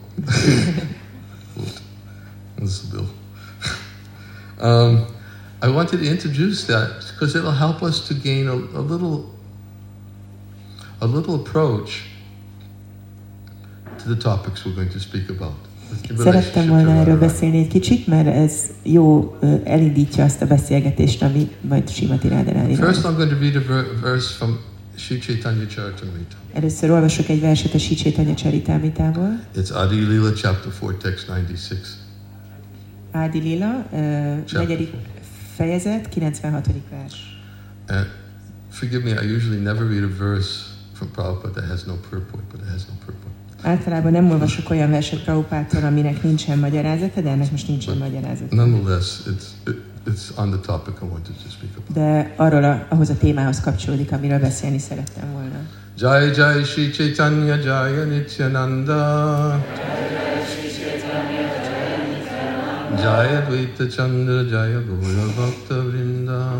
This is Bill. um, I wanted to introduce that because it'll help us to gain a, a little, a little approach to the topics we're going to speak about. Szerettem volna erről beszélni egy kicsit, mert ez jó elindítja azt a beszélgetést, ami majd Srimati Radharani. First I'm going to read a ver- verse from Sri Chaitanya Charitamrita. Először olvasok egy verset a Sri Chaitanya Charitamritából. It's Adi Lila chapter four, text ninety-six. Adi Lila, uh, negyedik fejezet, kilencvenhatodik vers. And forgive me, I usually never read a verse from Prabhupada that has no purport, but it has no purport. Általában nem olvasok olyan verset Prabhupádtól, aminek nincsen magyarázata, de ennek most nincsen magyarázata. Nonetheless, it's it, it's on the topic I wanted to speak about. De arról a, ahhoz a témához kapcsolódik, amiről beszélni szerettem volna. Jai Jai Shri Chaitanya Jaya Nityananda Jaya Advaita Chandra Jaya Gaura Bhakta Vrinda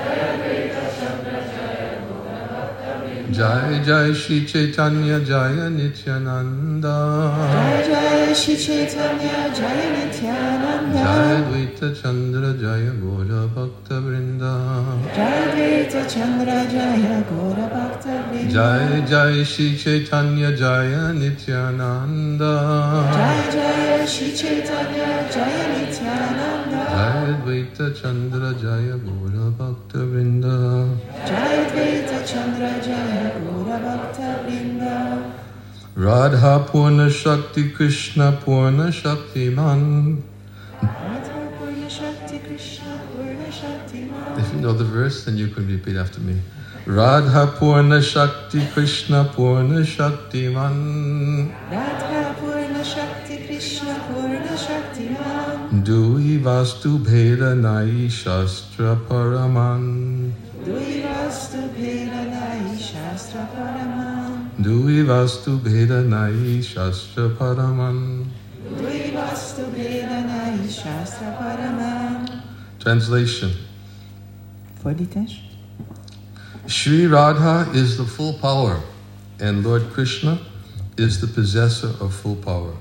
Jai Jai Shri Chaitanya Jaya Nityananda Jai Jai Shri Chaitanya Jaya Nityananda Jai Advaita Chandra Jaya Gaura Bhakta Vrinda Jai Advaita Chandra Jaya Gaura Bhakta Vrinda Jai Jai Shri Chaitanya Jaya Nityananda Jai Jai Shri Chaitanya Jaya Nityananda Jai Advaita Chandra Jaya Gaura Bhakta Vrinda Jai Advaita Chandra Jaya Gaura Bhakta Vrinda Radha Purna Shakti Krishna Purna Shakti Man. Radha Purna Shakti Krishna Purna Shakti Man. If you know the verse, then you can repeat after me. Radha Purna Shakti Krishna Purna Shakti Man. Radha Purna Shakti Krishna Purna Shakti Man. Dui Vastu Bheda Nai Shastra Paraman. Dui Vastu Bheda Nai Shastra Paraman. Dui Vastu Bheda Nai Shastra Paraman. Dui Vastu Bheda Nai Shastra Paraman. Translation. Fordítás. Sri Radha is the full power, and Lord Krishna is the possessor of full power.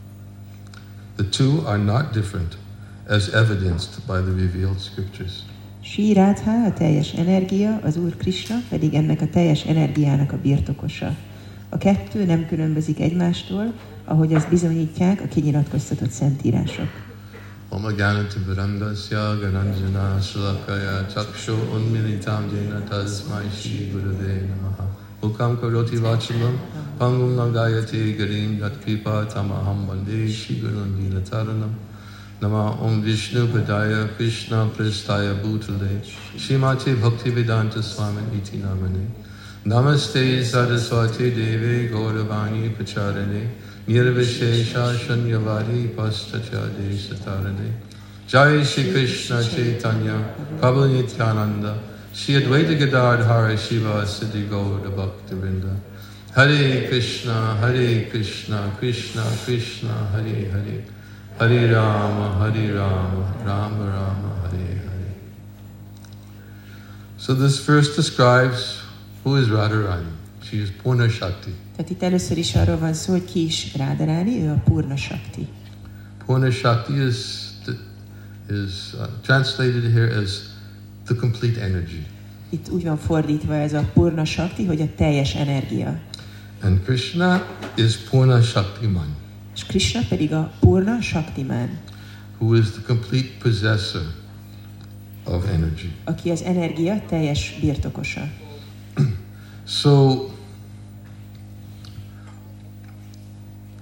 The two are not different, as evidenced by the revealed scriptures. Sri Radha a teljes energia, az Úr Krishna pedig ennek a teljes energiának a birtokosa. A kettő nem különbözik egymástól, ahogy azt bizonyítják a kinyilatkoztatott szentírások. Om Gyanativarandasya Gananjana Shalakaya Chakshu Unmilitam Jena Tasmai Shri Gurave Namaha Mukam Karoti Vachalam Pangum Langayati Garim Yatkripa Tamaham Vande Shri Gurun Vinataranam Nama Om Vishnu Padaya Krishna Pristaya Bhutale Shrimati Bhaktivedanta Swami Iti Namane Namaste Saraswati Deve Gauravani Pacharane Nirvishesha Shanyavari Pastachade Satarane Jai Shri Krishna Chaitanya Prabhu Nityananda Shri Advaita Gadadhara Shiva Siddhi Gaura Bhaktivinda Hare Krishna Hare Krishna Krishna Krishna Hare Hare Hare Rama Hare Rama Rama Rama Hare Hare. So this verse describes who is Radharani. She is Purna Shakti. Tehát itt először is arról van szó, hogy ki is Radharani, ő a Purna Shakti. Purna Shakti is the, is uh, translated here as the complete energy. Itt úgy van fordítva ez a Purna Shakti, hogy a teljes energia. And Krishna is Purna Shaktiman, És Krishna pedig a Purna Shaktiman, who is the complete possessor of energy. aki az energia teljes birtokosa. So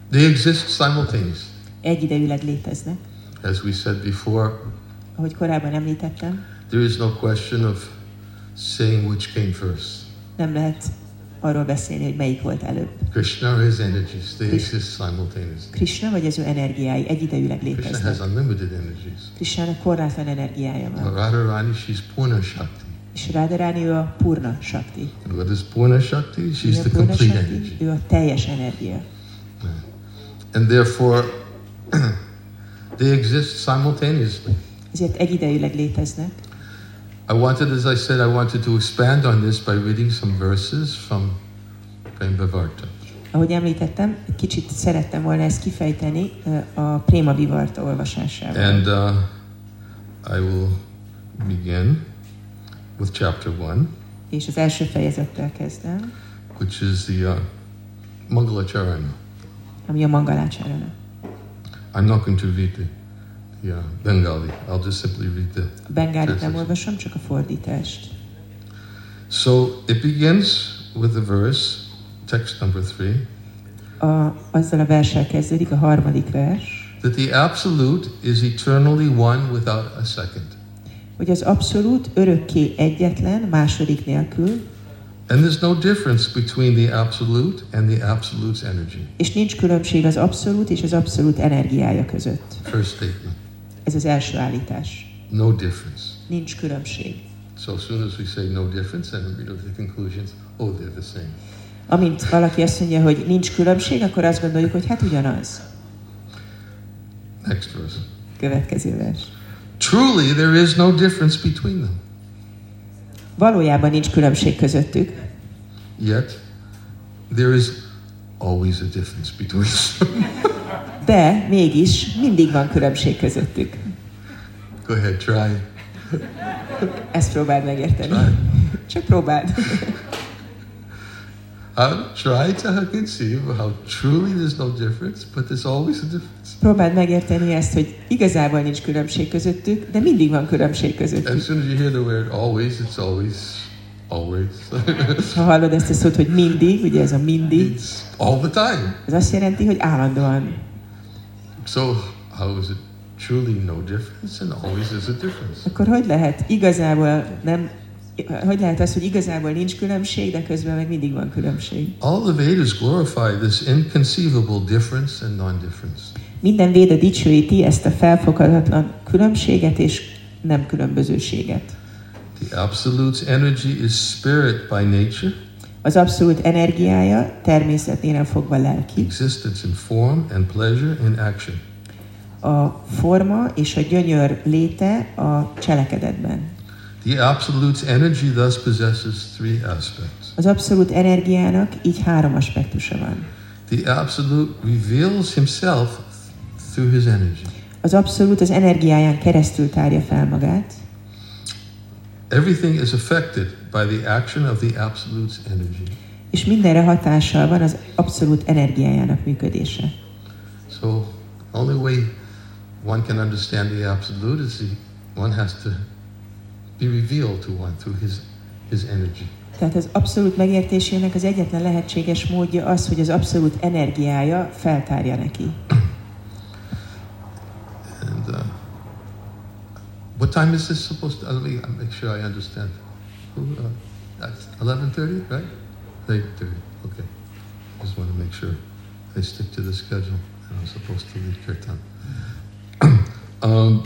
They exist simultaneously. Egyidejűleg léteznek. As we said before, Ahogy korábban említettem, there is no question of saying which came first. nem lehet arról beszélni, hogy melyik volt előbb. Krishna or his energies, they exist simultaneously. Krishna vagy az ő energiái egyidejűleg Krishna léteznek. has unlimited energies. Krishnának korlátlan energiája van. Radharani, she's Purna Shakti. És Radharani ő a Purna Shakti. And what is Purna Shakti? Mi She's a the Purna complete Shakti? energy. Ő a teljes energia. And therefore, they exist simultaneously. Ezért egyidejűleg léteznek. I wanted, as I said, I wanted to expand on this by reading some verses from Prem Vivarta. Ahogy említettem, kicsit szerettem volna ezt kifejteni a Préma Vivarta olvasásával. And uh, I will begin with chapter one, És az első fejezettel kezdem, which is the uh, Mangalacharana. ami a Mangalácsarana. I'm not going to read the, the uh, Bengali. I'll just simply read the A bengálit nem translation. olvasom, csak a fordítást. So it begins with the verse, text number three, A, azzal a verssel kezdődik, a harmadik vers, that the Absolute is eternally one without a second. hogy az abszolút örökké egyetlen, második nélkül, And there's no difference between the Absolute and the Absolute's energy. és nincs különbség az abszolút és az abszolút energiája között. First statement. Ez az első állítás. No difference. Nincs különbség. So as soon as we say no difference, then we look at the conclusions, oh, they're the same. Amint valaki azt mondja, hogy ninch különbség, akkor azt gondoljuk, hogy hát ugyanaz. Next verse. Következő vers. Truly, there is no difference between them. Valójában nincs különbség közöttük, Yet, there is always a difference between them. de mégis mindig van különbség közöttük. Go ahead, try. Ezt próbáld megérteni. Try. Csak próbáld. I'll try to conceive how truly there's no difference, but there's always a difference. Próbáld megérteni ezt, hogy igazából nincs különbség közöttük, de mindig van különbség As közöttük. soon as you hear the word always, it's always, always. Ha hallod ezt a szót, hogy mindig, ugye ez a mindig, It's all the time. ez azt jelenti, hogy állandóan. So, how is it truly no difference and always is a difference? Akkor hogy lehet igazából nem, hogy lehet az, hogy igazából nincs különbség, de közben meg mindig van különbség? All the Vedas glorify this inconceivable difference and non-difference. Minden véda dicsőíti ezt a felfoghatatlan különbséget és nem különbözőséget. The Absolute's energy is spirit by nature, Az abszolút energiája természeténél fogva lelki. existence in form and pleasure in action. A forma és a gyönyör léte a cselekedetben. The Absolute's energy thus possesses three aspects. Az abszolút energiának így három aspektusa van. The Absolute reveals himself through his energy. Az abszolút az energiáján keresztül tárja fel magát. Everything is affected by the action of the Absolute's energy. És mindenre hatással van az abszolút energiájának működése. So, only way one can understand the Absolute is the, one has to be revealed to one through his, his energy. Tehát az abszolút megértésének az egyetlen lehetséges módja az, hogy az abszolút energiája feltárja neki. And uh, what time is this supposed to? Let me make sure I understand. Uh, that's eleven thirty, right? eight thirty. Okay. Just want to make sure I stick to the schedule. And I'm supposed to leave kirtan. um,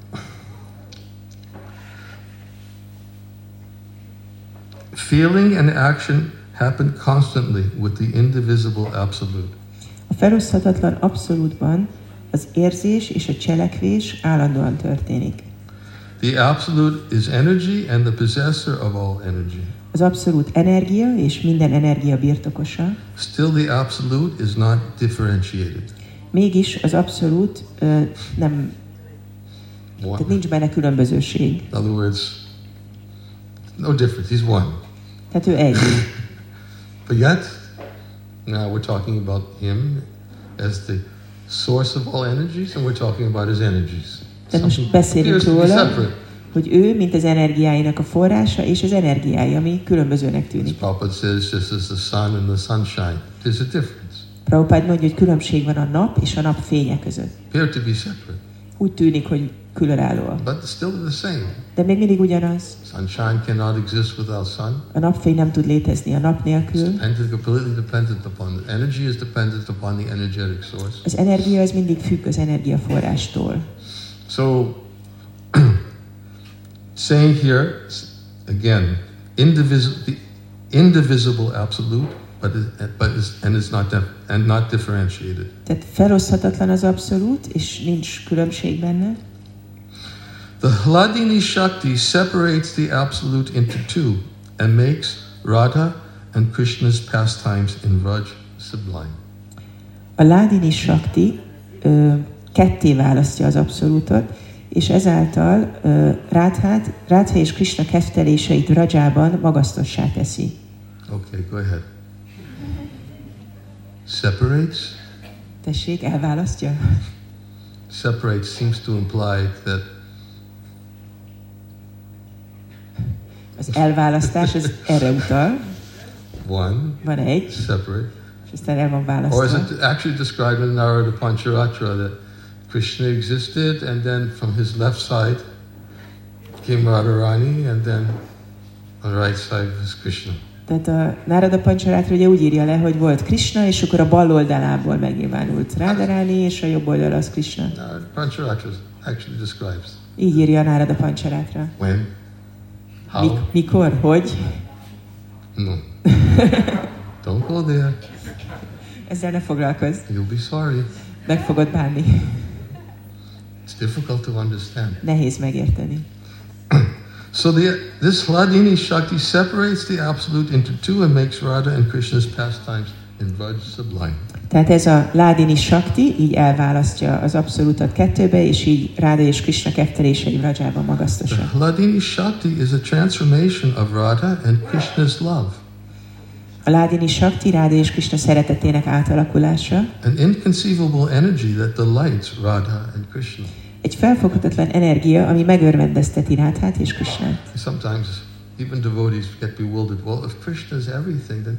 feeling and action happen constantly with the indivisible Absolute. A feloszthatatlan abszolútban az érzés és a cselekvés állandóan történik. The Absolute is energy and the possessor of all energy. Az abszolút energia és minden energia birtokosa, Still, the Absolute is not differentiated. mégis az abszolút ö, nem, One. tehát nincs benne különbözőség. In other words, no difference. He's one. Tehát ő egy. But yet, now we're talking about him as the source of all energies, and we're talking about his energies. De most Something beszélünk appears to be róla, separate. hogy ő, mint az energiáinak a forrása, és az energiája, ami különbözőnek As tűnik. Prabhupada says, just as the sun and the sunshine, there's a difference. Prabhupád mondja, hogy különbség van a nap és a nap fénye között. Appear to be separate. Úgy tűnik, hogy különállóak. But still the same. De még mindig ugyanaz. Sunshine cannot exist without sun. A napfény nem tud létezni a nap It's nélkül. dependent, completely dependent upon the energy is dependent upon the energetic source. Az energia az mindig függ az energiaforrástól. So, saying here again, indivisible, the indivisible absolute, but it, but is, and it's not dif- and not differentiated. Tehát feloszthatatlan az abszolút, és nincs különbség benne. The Hladini Shakti separates the absolute into two and makes Radha and Krishna's pastimes in Vraj sublime. A Ládini Shakti ö, ketté választja az abszolútot, és ezáltal ö, Rádhát, Rádha és Krishna kefteléseit Vrajában magasztossá teszi. Okay, go ahead. Separates? Tessék, elválasztja? Separates seems to imply that Az elválasztás az erre utal. one, Van egy, separate. és aztán el van Or is választva. it actually described in Narada Pancharatra that Krishna existed and then from his left side came Radharani and then on the right side was Krishna. Tehát a Narada Pancharatra ugye úgy írja le, hogy volt Krishna, és akkor a bal oldalából megnyilvánult Radharani, és a jobb oldal az Krishna. Narada Pancharatra actually describes Így írja a Narada Pancharatra. when, how, Mik- mikor, hogy? no. Don't go there. Ezzel ne foglalkozz. You'll be sorry. Meg fogod bánni. It's difficult to understand. Nehéz megérteni. So the, this Hladini Shakti separates the absolute into two and makes Radha and Krishna's pastimes in Vraj sublime. Tehát ez a Ládini Shakti így elválasztja az abszolútat kettőbe, és így Ráda és Krishna keftelései Vrajában The magasztosak. Hladini Shakti is a transformation of Radha and Krishna's love. A Ládini Shakti Ráda és Krishna szeretetének átalakulása, An inconceivable energy that delights Radha and Krishna. egy felfoghatatlan energia, ami megörvendezteti Rádhát és Krishnát. Sometimes even devotees get bewildered. Well, if Krishna is everything, then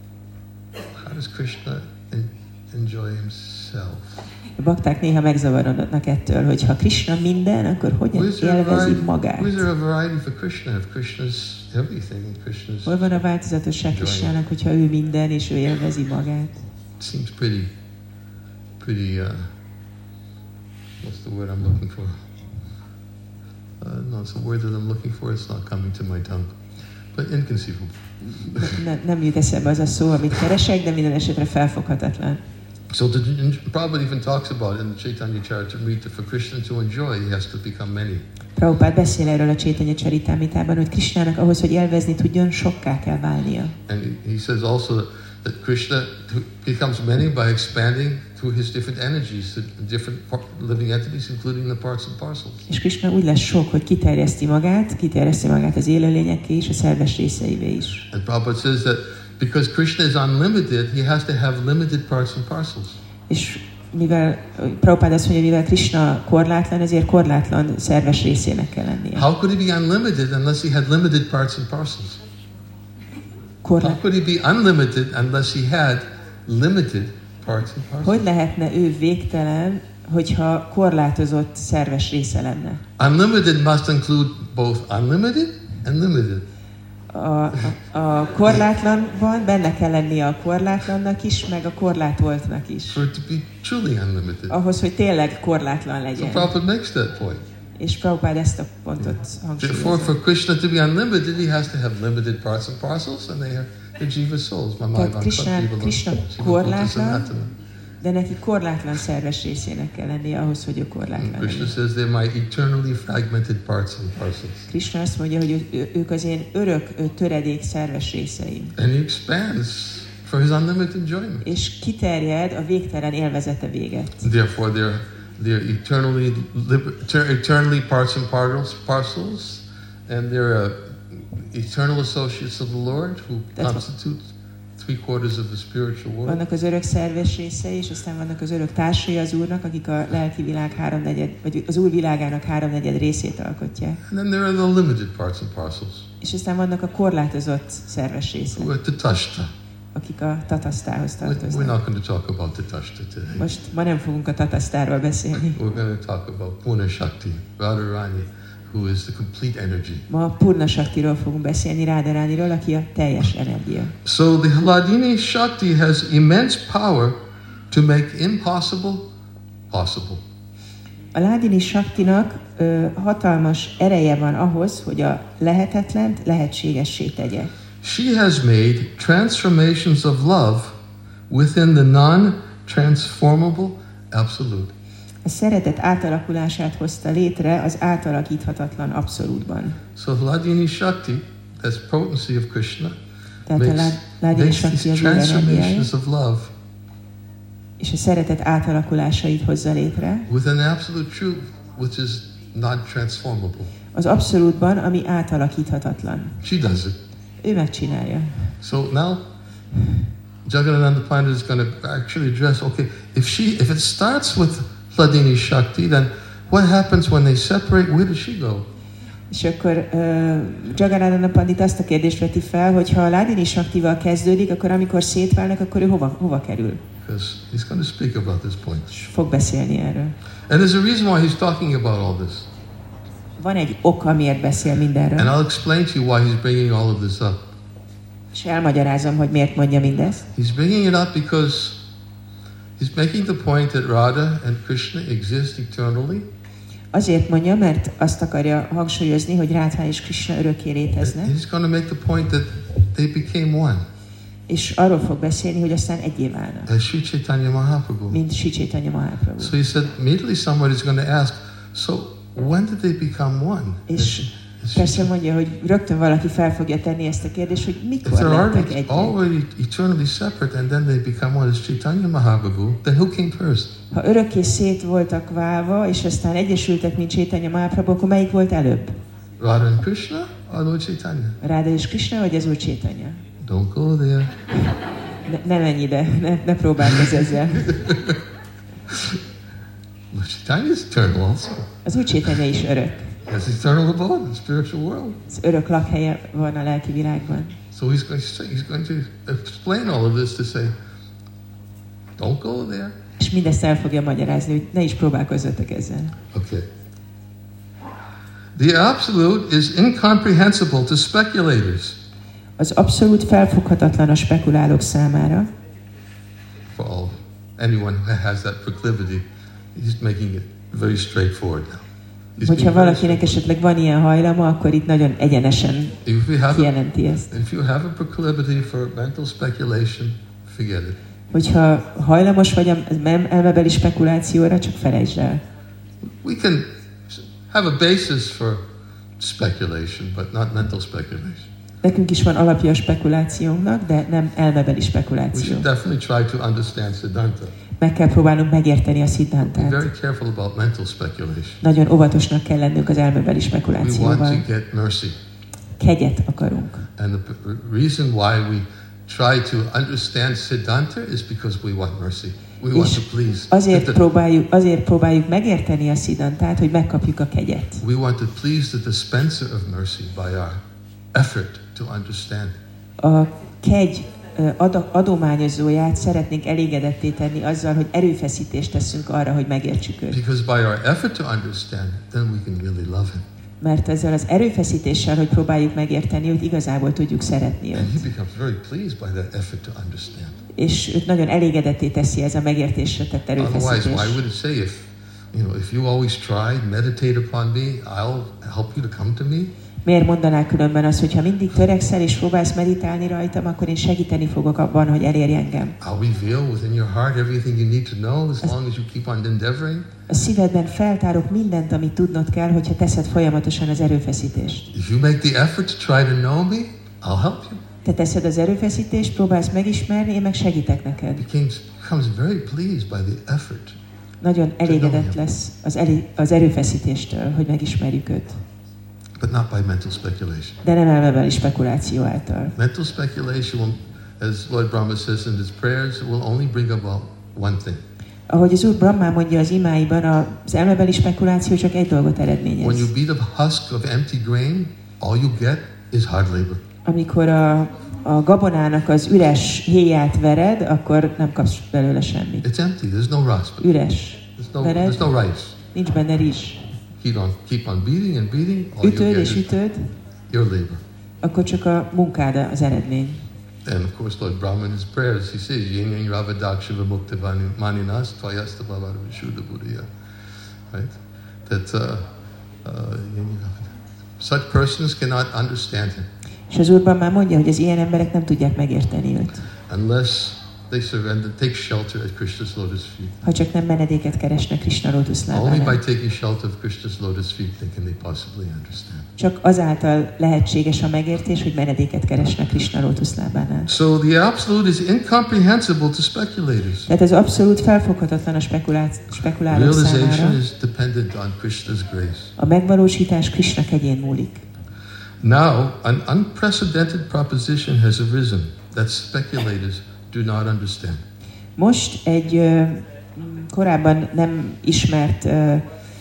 how does Krishna en- enjoy himself? A bakták néha megzavarodnak ettől, hogy ha Krishna minden, akkor hogyan Where's there a élvezi variety, magát? where's there a variety for Krishna if Krishna's everything and Krishna's Hol van a változatosság Krishnának, hogyha ő minden, és ő élvezi magát? It seems pretty, pretty, uh, what's the word I'm looking for? Uh, no, it's a word that I'm looking for, it's not coming to my tongue. But inconceivable. Ne, nem jut eszembe az a szó, amit keresek, de minden esetre felfoghatatlan. So the, Prabhupada even talks about it in the Chaitanya Charitamrita, for Krishna to enjoy, he has to become many. Prabhupád beszél erről a Chaitanya Charitamritában, hogy Krishnának ahhoz, hogy élvezni tudjon, sokká kell válnia. And he, he says also that, that Krishna becomes many by expanding through his different energies, the different par- living entities, including the parts and parcels. És Krishna úgy lesz sok, hogy kiterjeszti magát, kiterjeszti magát az élőlényekké és a szerves részeivé is. And Prabhupada says that because Krishna is unlimited, he has to have limited parts and parcels. És mivel Prabhupád azt mondja, mivel Krishna korlátlan, ezért korlátlan szerves részének kell lennie. How could he be unlimited unless he had limited parts and parcels? How Korlát... could he be unlimited unless he had limited parts and parcels? Hogy lehetne ő végtelen, hogyha korlátozott szerves része lenne? Unlimited must include both unlimited and limited. A, a, a korlátlanban benne kell lennie a korlátlannak is, meg a korlátoltnak is. For it to be truly unlimited. Ahhoz, hogy tényleg korlátlan So legyen. Prabhupada makes that point. És Prabhupád ezt a pontot Therefore, hangsúlyozza. for Krishna to be unlimited, he has to have limited parts and parcels, and they are the jiva souls. Tehát Krishna, Krishna korlátlan, de neki korlátlan szerves részének kell lennie ahhoz, hogy ő korlátlan Krishna legyen. says they're my eternally fragmented parts and parcels. Krishna azt mondja, hogy ő, ő, ők az én örök ő, töredék szerves részeim. And he expands for his unlimited enjoyment. És kiterjed a végtelen élvezete véget. Therefore, they're they're eternally liber- eternally parts and parcels, parcels, and they're uh, eternal associates of the Lord who That's constitute three quarters of the spiritual world. Vannak az örök szerves részei, és aztán vannak az örök társai az Úrnak, akik a lelki világ háromnegyed, vagy az Úr világának háromnegyed részét alkotják. And then there are the limited parts and parcels. És aztán vannak a korlátozott szerves részek. Who are tatashta. akik a tatasztához We're we're tartoznak. not going to talk about Tatashta today. Most ma nem fogunk a tatasztáról beszélni. We're going to talk about Purna Shakti, Radharani, who is the complete energy. Ma a Purna Shaktiról fogunk beszélni, Radharaniról, aki a teljes energia. So the Hladini Shakti has immense power to make impossible possible. A Hladini Shaktinak ö, hatalmas ereje van ahhoz, hogy a lehetetlent lehetségessé tegye. She has made transformations of love within the non-transformable absolute. A szeretet átalakulását hozta létre az átalakíthatatlan abszolútban. So Hladini Shakti, that's potency of Krishna, Tehát a makes, Lá- Hladini makes Shakti these az ő energiája, transformations of love és a szeretet átalakulásait hozza létre with an absolute truth which is not transformable. az abszolútban, ami átalakíthatatlan. She does it. Ő megcsinálja. So now Jagannatha Pandit is going to actually address, okay, if she if it starts with Hladini Shakti, then what happens when they separate? Where does she go? És akkor uh, Jagannatha Pandit azt a kérdést veti fel, hogy ha a Hladini Shaktival kezdődik, akkor amikor szétválnak, akkor ő hova, hova kerül? Because he's going to speak about this point. És fog beszélni erről. And there's a reason why he's talking about all this. Van egy oka, miért beszél mindenről. And I'll explain to you why he's bringing all of this up. És elmagyarázom, hogy miért mondja mindezt. He's bringing it up because he's making the point that Radha and Krishna exist eternally. Azért mondja, mert azt akarja hangsúlyozni, hogy Rádha és Krishna örökké léteznek, And he's going to make the point that they became one. és arról fog beszélni, hogy aztán egyé válnak, As Sri Chaitanya Mahaprabhu. mint Sri Chaitanya Mahaprabhu. So he said, immediately somebody is going to ask, so when did they become one? És Is- persze mondja, hogy rögtön valaki fel fogja tenni ezt a kérdést, hogy If mikor they're lettek already, egyé. already eternally separate and then they become one as Chaitanya Mahaprabhu, then who came first? Ha örökké szét voltak válva, és aztán egyesültek, mint Chaitanya Mahaprabhu, akkor melyik volt előbb? Radha and Krishna or Lord Chaitanya? Ráda és Krishna, vagy az Úr Chaitanya? Don't go there. Ne, ne menj ide, ne, ne próbálkozz ezzel. Lord Chaitanya is eternal also. Az Úr Chaitanya is örök. Has eternal abode in the spiritual world. Az örök lakhelye van a lelki világban. So he's going to say, he's going to explain all of this to say, don't go there. És mindezt el fogja magyarázni, hogy ne is próbálkozzatok ezzel. Okay. The absolute is incomprehensible to speculators. Az abszolút felfoghatatlan a spekulálók számára. For all, anyone who has that proclivity, he's making it very straightforward now. He's Hogyha being very valakinek esetleg van ilyen hajlama, akkor itt nagyon egyenesen If you have, a, kijelenti ezt. if you have a proclivity for mental speculation, forget it. Hogyha hajlamos vagy a elmebeli spekulációra, csak felejtsd el. We can have a basis for speculation, but not mental speculation. Nekünk is van alapja a spekulációnknak, de nem elmebeli We spekuláció. should definitely try to understand Siddhanta. Meg kell próbálnunk megérteni a Be Siddhantát. very careful about mental speculation. Nagyon óvatosnak kell lennünk az elmebeli We want spekulációval. to get mercy. Kegyet akarunk. And the p- reason why we try to understand Siddhanta is because we want mercy. We want És to please. azért próbáljuk, azért próbáljuk megérteni a Siddhantát, hogy megkapjuk a kegyet. We want to please the dispenser of mercy by our effort to understand. A kegy ö, ad- adományozóját szeretnénk elégedetté tenni azzal, hogy erőfeszítést teszünk arra, hogy megértsük őt. Because by our effort to understand, then we can really love him. Mert ezzel az erőfeszítéssel, hogy próbáljuk megérteni őt, igazából tudjuk szeretni And he őt. becomes very pleased by that effort to understand. És őt nagyon elégedetté teszi ez a megértésre tett Otherwise, erőfeszítés. why would it say if, you know, if you always try, meditate upon me, I'll help you to come to me? Miért mondaná különben az, hogy ha mindig törekszel és próbálsz meditálni rajtam, akkor én segíteni fogok abban, hogy elérj engem. I'll reveal within your heart everything you need to know as long as you keep on endeavoring. A szívedben feltárok mindent, amit tudnod kell, hogyha teszed folyamatosan az erőfeszítést. If you make the effort to try to know me, I'll help you. Te teszed az erőfeszítést, próbálsz megismerni, én meg segítek neked. Becomes, becomes very pleased by the effort. Nagyon elégedett lesz az, elé- az erőfeszítéstől, hogy megismerjük őt. But not by mental speculation. De nem elmebeli spekuláció által. Mental speculation, will, as Lord Brahma says in his prayers, will only bring about one thing. Ahogy az Úr Brahma mondja az imáiban, az elmebeli spekuláció csak egy dolgot When eredményez. you beat a husk of empty grain, all you get is hard labor. amikor a, a gabonának az üres héját vered, akkor nem kapsz belőle semmit. It's empty. There's no rust. Üres. There's no, Vered, there's no rice. nincs benne rizs. Keep on, keep on beating and beating. All you Ütöd get és is ütöd, your labor. akkor csak a munkád az eredmény. And of course, Lord Brahma in his prayers, he says, Yin Yang Ravadak Shiva Mukta Maninas Tvayasta Bhavara Vishuddha Buddhaya. Right? That uh, uh, such persons cannot understand him. És az Úrban már mondja, hogy az ilyen emberek nem tudják megérteni őt. Unless they surrender, take shelter at Krishna's lotus feet. Ha csak nem menedéket keresnek Krishna Only by lótuszlábánál. taking shelter of Krishna's lotus feet they can they possibly understand. Csak azáltal lehetséges a megértés, hogy menedéket keresnek Krishna lótuszlábánál. So the absolute is incomprehensible to speculators. Tehát ez abszolút felfoghatatlan a spekulá- spekulálók Realization számára. is dependent on Krishna's grace. A megvalósítás Krishna kegyén múlik. Now, an unprecedented proposition has arisen that speculators do not understand. Most egy ö, korábban nem ismert ö,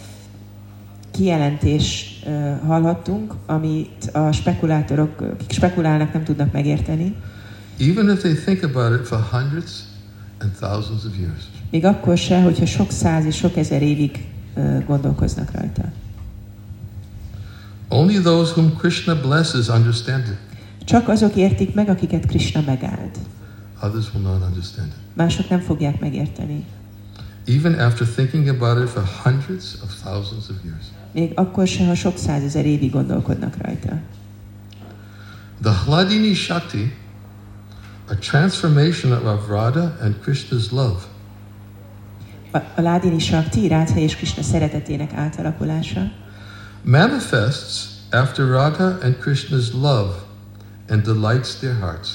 kijelentést ö, hallhattunk, amit a spekulátorok, akik spekulálnak, nem tudnak megérteni. Even if they think about it for hundreds and thousands of years. Még akkor se, hogyha sok száz és sok ezer évig ö, gondolkoznak rajta. Only those whom Krishna blesses understand it. Csak azok értik meg, akiket Krishna megáld. Others will not understand it. Mások nem fogják megérteni. Even after thinking about it for hundreds of thousands of years. Még akkor se, ha sok százezer évig gondolkodnak rajta. The Hladini Shakti, a transformation of Radha and Krishna's love, A, a Ládini Shakti, Rádha és Krishna szeretetének átalakulása manifests after Radha and Krishna's love and delights their hearts.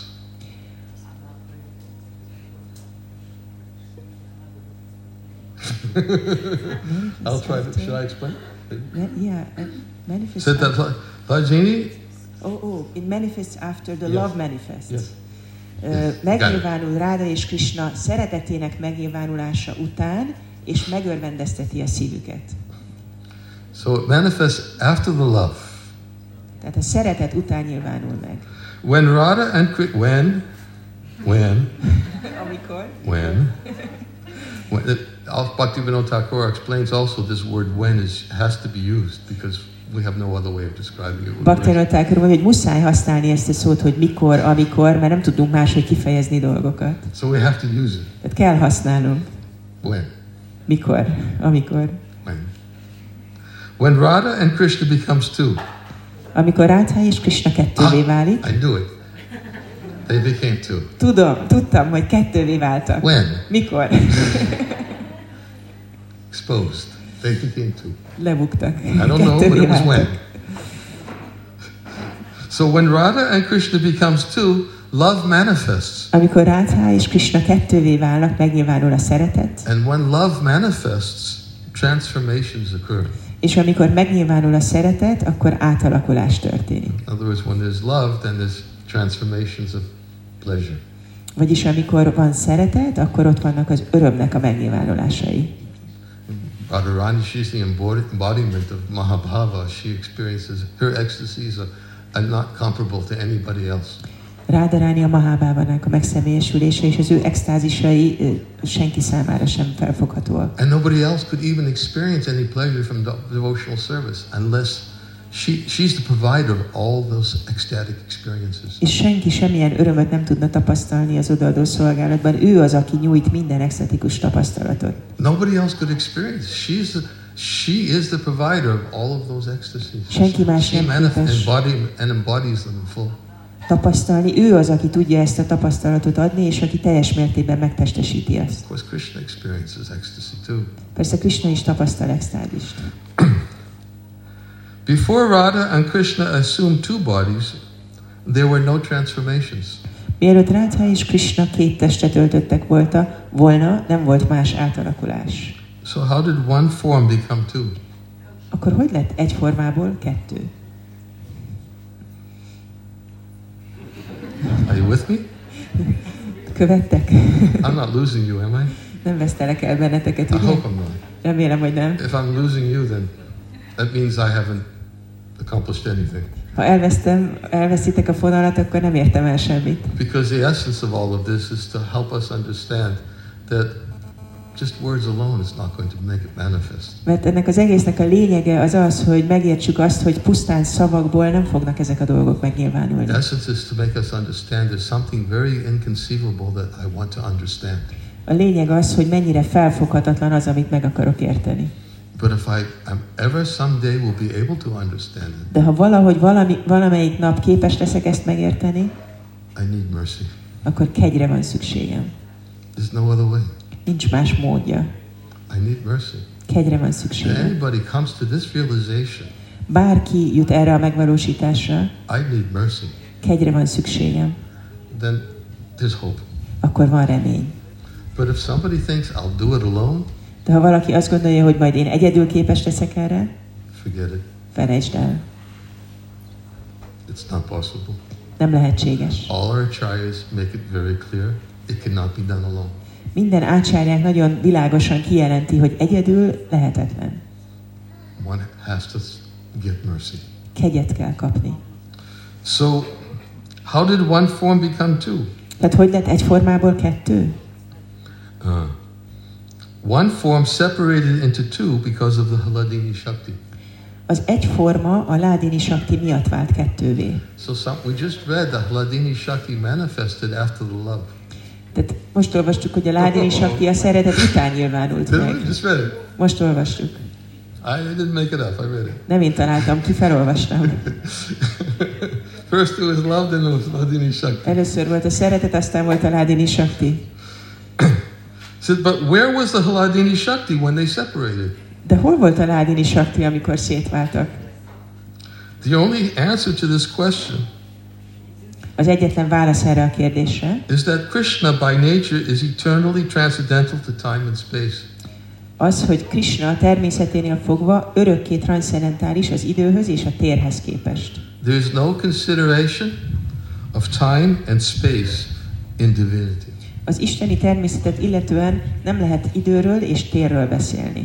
I'll try to, should I explain? Me, yeah, uh, manifests. Said that Lajini, Oh, oh, it manifests after the Yes. love manifests. Yes. Ö, megnyilvánul Ráda és Krishna szeretetének megnyilvánulása után, és megörvendezteti a szívüket. so it manifests after the love. Tehát a szeretet után nyilvánul meg. When Radha and Kri- when, when, Amikor? when, when it, Bhaktivinoda Thakur explains also this word when is has to be used because we have no other way of describing it. Bhaktivinoda Thakur mondja, hogy muszáj használni ezt a szót, hogy mikor, amikor, mert nem tudunk máshogy kifejezni dolgokat. So we have to use it. Tehát kell használnunk. When? Mikor? Amikor. When? When Radha and Krishna becomes two. Amikor Rádha és Krishna kettővé válik. I knew it. They became two. Tudom, tudtam, hogy kettővé váltak. When? Mikor? Exposed. They became two. Lebuktak. I don't know, but it was when. So when Radha and Krishna becomes two, love manifests. Amikor Rádha és Krishna kettővé válnak, megnyilvánul a szeretet. And when love manifests, transformations occur. És amikor megnyilvánul a szeretet, akkor átalakulás történik. In other words, when there's love, then there's transformations of pleasure. Vagyis amikor van szeretet, akkor ott vannak az örömnek a megnyilvánulásai. Radharani, she's the embodiment of Mahabhava. She experiences, her ecstasies are, are not comparable to anybody else. Rádaráni a Mahábávának a megszemélyesülése, és az ő extázisai ö, senki számára sem felfoghatóak. And nobody else could even experience any pleasure from the devotional service unless she, she's the provider of all those ecstatic experiences. És senki semmilyen örömöt nem tudna tapasztalni az odaadó szolgálatban. Ő az, aki nyújt minden extatikus tapasztalatot. Nobody else could experience. She's the, she is the provider of all of those ecstasies. Senki más She nem manif- képes embody, and embodies them in full. tapasztalni. Ő az, aki tudja ezt a tapasztalatot adni, és aki teljes mértékben megtestesíti azt. Of course, Krishna experiences ecstasy too. Persze Krishna is tapasztal extázist. Before Radha and Krishna assumed two bodies, there were no transformations. Mielőtt Rádha és Krishna két testet öltöttek volta, volna, nem volt más átalakulás. So how did one form become two? Akkor hogy lett egy formából kettő? Are you with me? Követtek? I'm not losing you, am I? Nem vesztelek el benneteket, I ugye? hope I'm not. Remélem, hogy nem. If I'm losing you, then that means I haven't accomplished anything. Ha elvesztem, elveszítek a fonalat, akkor nem értem el semmit. Because the essence of all of this is to help us understand that just words alone is not going to make it manifest. Mert ennek az egésznek a lényege az az, hogy megértsük azt, hogy pusztán szavakból nem fognak ezek a dolgok megnyilvánulni. The essence is to make us understand there's something very inconceivable that I want to understand. A lényeg az, hogy mennyire felfoghatatlan az, amit meg akarok érteni. But if I am ever someday will be able to understand it, De ha valahogy valami, valamelyik nap képes leszek ezt megérteni, I need mercy. akkor kegyre van szükségem. There's no other way. Nincs más módja. I need mercy. Kegyre van If szükségem. anybody comes to this realization, Bárki jut erre a megvalósításra, I need mercy, kegyre van szükségem, then there's hope. akkor van remény. But if somebody thinks I'll do it alone, De ha valaki azt gondolja, hogy majd én egyedül képes leszek erre, forget it. felejtsd el. It's not possible. Nem lehetséges. All our acharyas make it very clear it cannot be done alone. Minden ácsárják nagyon világosan kijelenti, hogy egyedül lehetetlen. One has to get mercy. Kegyet kell kapni. So, how did one form become two? Tehát hogy lett egy formából kettő? Uh, one form separated into two because of the Haladini Shakti. Az egy forma a Ládini Shakti miatt vált kettővé. So some, we just read the Haladini Shakti manifested after the love. Tehát most olvastuk, hogy a Ládini Shakti a szeretet után nyilvánult meg. Just read it. Most olvastuk. I didn't make it up, I read it. Nem én találtam ki, felolvastam. First it was love, then it was Haladini Shakti. Először volt a szeretet, aztán volt a Ládini Shakti. So, but where was the Haladini Shakti when they separated? De hol volt a Ládini Shakti, amikor szétváltak? The only answer to this question Az egyetlen válasz erre a kérdésre is that Krishna by nature is eternally transcendental to time and space. az, hogy Krishna természeténél fogva örökké transzcendentális az időhöz és a térhez képest. There is no consideration of time and space in divinity. Az isteni természetet illetően nem lehet időről és térről beszélni.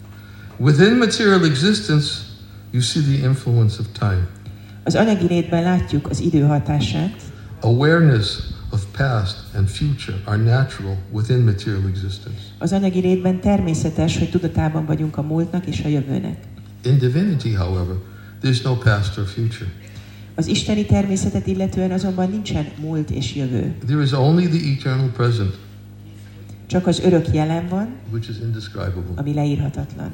Within material existence, you see the influence of time. Az anyagi létben látjuk az idő hatását. Awareness of past and future are natural within material existence. Az anyagi létben természetes, hogy tudatában vagyunk a múltnak és a jövőnek. In divinity, however, there's no past or future. Az isteni természetet illetően azonban nincsen múlt és jövő. There is only the eternal present, Csak az örök jelen van, which is indescribable. ami leírhatatlan.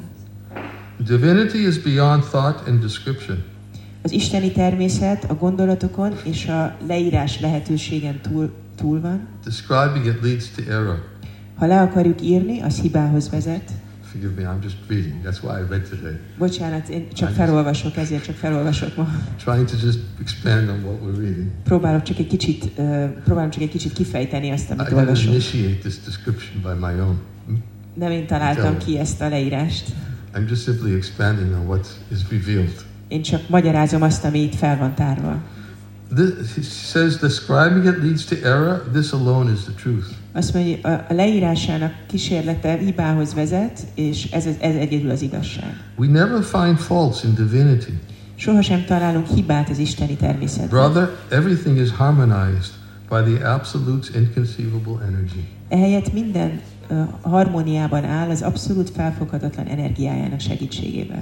Divinity is beyond thought and description. Az isteni természet a gondolatokon és a leírás lehetőségen túl, túl van. Describing it leads to error. Ha le akarjuk írni, az hibához vezet. Forgive me, I'm just reading. That's why I read today. Bocsánat, én csak felolvasok, ezért csak felolvasok ma. Trying to just expand on what we're reading. Próbálok csak egy kicsit, uh, próbálom csak egy kicsit kifejteni azt, I amit didn't olvasok. initiate this description by my own. Hmm? Nem én találtam ki ezt a leírást. I'm just simply expanding on what is revealed. Én csak magyarázom azt, ami itt fel van tárva. This, he says, describing it leads to error. This alone is the truth. Azt mondja, a leírásának kísérlete hibához vezet, és ez, ez egyedül az igazság. We never find faults in divinity. Sohasem találunk hibát az isteni természetben. Brother, everything is harmonized by the absolute's inconceivable energy. Ehelyett minden uh, harmóniában áll az abszolút felfoghatatlan energiájának segítségével.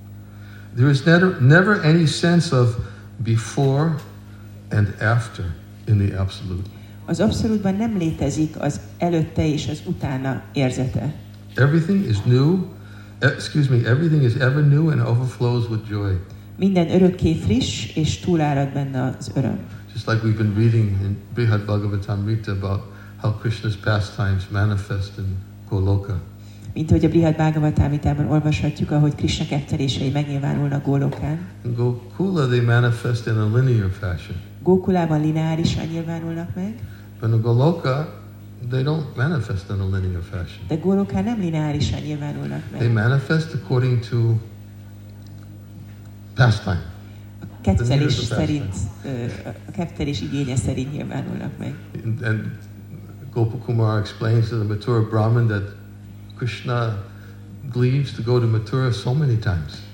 There is never, never any sense of before and after in the absolute. Az abszolútban nem létezik az előtte és az utána érzete. Everything is new. Excuse me. Everything is ever new and overflows with joy. Minden örökké friss és túlárad benne az öröm. Just like we've been reading in Brihad Bhagavatamrita about how Krishna's pastimes manifest in Goloka. Mint ahogy a Brihad Bhagavatamritában olvashatjuk, ahogy Krishna kettelései megnyilvánulnak Gólokán. In Gokula they manifest in a linear fashion. Gókulában lineárisan nyilvánulnak meg, But in Goloka they don't manifest in a linear fashion. de Gólokán nem lineárisan nyilvánulnak They meg. manifest according to pastime. A kettelés szerint, ö, a kettelés igénye szerint nyilvánulnak meg. And, and Gopakumar explains to the Mathura Brahmin that Krishna leaves to go to Mathura so many times.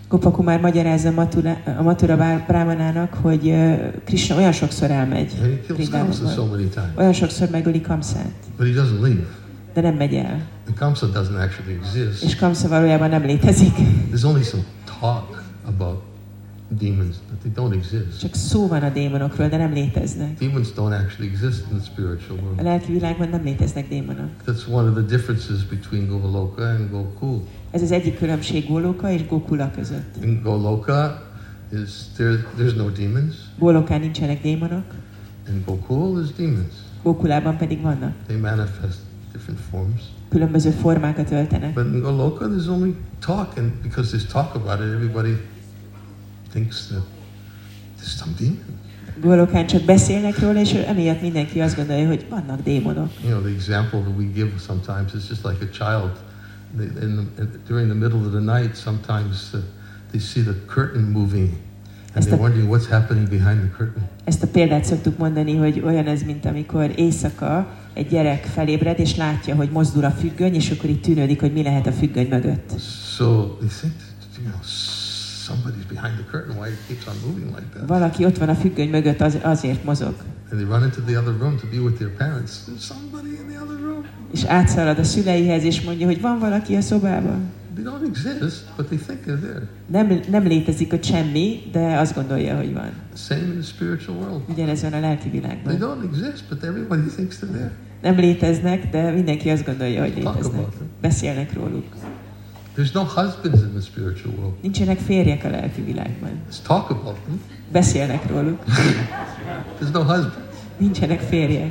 Gopakumar magyarázza Mathura, a Mathura Brahmanának, hogy uh, Krishna olyan sokszor elmegy And he kills Kamsa so many times. olyan sokszor megöli Kamszát, But he doesn't leave. de nem megy el. And Kamsa doesn't actually exist. És Kamsa valójában nem létezik. There's only some talk about demons, but they don't exist. Csak szó van a démonokról, de nem léteznek. Demons don't actually exist in the spiritual A world. lelki világban nem léteznek démonok. That's one of the differences between Goloka and Gokul. Ez az egyik különbség Goloka és Gokula között. In Goloka, is there, there's no demons. Golokán nincsenek démonok, In Gokul, there's demons. Gokulában pedig vannak. They manifest different forms. Különböző formákat öltenek. But in Goloka, there's only talk, and because there's talk about it, everybody thinks that there's some demon. Golokán csak beszélnek róla, és emiatt mindenki azt gondolja, hogy vannak démonok. You know, the example that we give sometimes is just like a child. They, in the, in, during the middle of the night, sometimes uh, they see the curtain moving, and they're wondering what's happening behind the curtain. Ezt a példát szoktuk mondani, hogy olyan ez, mint amikor éjszaka egy gyerek felébred, és látja, hogy mozdul a függöny, és akkor itt tűnődik, hogy mi lehet a függöny mögött. So they think, that, you know, somebody's behind the curtain. Why it keeps on moving like that? Valaki ott van a függöny mögött, az, azért mozog. And they run into the other room to be with their parents. There's somebody in the other room. És átszalad a szüleihez, és mondja, hogy van valaki a szobában. They don't exist, but they think they're there. Nem, nem létezik ott semmi, de azt gondolja, hogy van. Same in the spiritual world. Ugyanez van a lelki They világban. don't exist, but everybody thinks they're there. Nem léteznek, de mindenki azt gondolja, hogy Talk léteznek. about them. Beszélnek róluk. There's no husbands in the spiritual world. Nincsenek férjek a lelki világban. Let's talk about them. Beszélnek róluk. There's no husbands. Nincsenek férjek.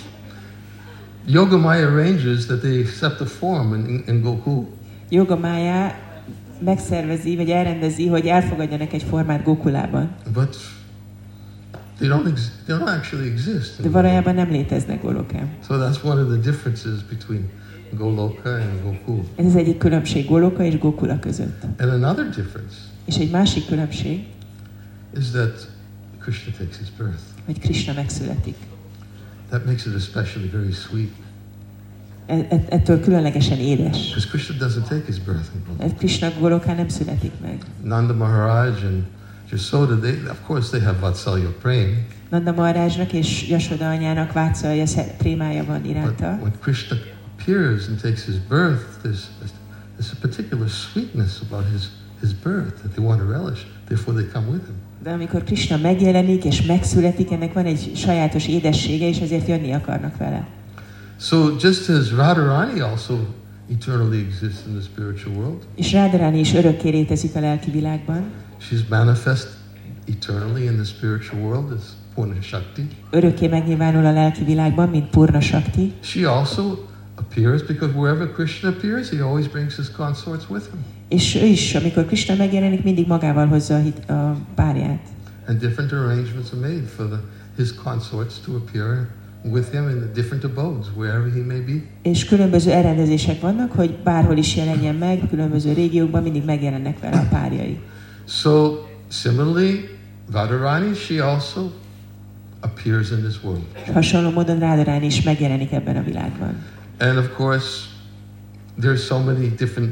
Yoga Maya arranges that they accept a form in, in Gokul. Yoga Maya megszervezi, vagy elrendezi, hogy elfogadjanak egy formát Gokulában. But they don't, ex- they don't actually exist. De valójában nem léteznek Golokán. So that's one of the differences between Goloka and Gokul. Ez az egyik különbség Goloka és Gokula között. And another difference És egy másik különbség, is that Krishna takes his birth. hogy Krishna megszületik. That makes it especially very sweet. E- ettől különlegesen édes. Because Krishna doesn't take his birth in Goloka. Mert Krishna Golokán nem születik meg. Nanda Maharaj and Yasoda, they, of course they have Vatsalya Prem. Nanda Maharajnak és Yasoda anyának Vátszalja prémája van But iránta. when Krishna appears and takes his birth, there's, there's a particular sweetness about his, his birth that they want to relish. Therefore they come with him. De amikor Krishna megjelenik és megszületik, ennek van egy sajátos édessége, és ezért jönni akarnak vele. So just as Radharani also eternally exists in the spiritual world, És Radharani is örökké létezik a lelki világban. she's manifest eternally in the spiritual world as Purna Shakti. Örökké megnyilvánul a lelki világban, mint Purna Shakti. She also appears because wherever Krishna appears, he always brings his consorts with him. És ő is, amikor Krishna megjelenik, mindig magával hozza a, hit, a párját. And different arrangements are made for the, his consorts to appear with him in the different abodes, wherever he may be. És különböző elrendezések vannak, hogy bárhol is jelenjen meg, különböző régiókban mindig megjelennek vele a párjai. So, similarly, Radharani, she also appears in this world. És hasonló módon Radharani is megjelenik ebben a világban. And of course, there's so many different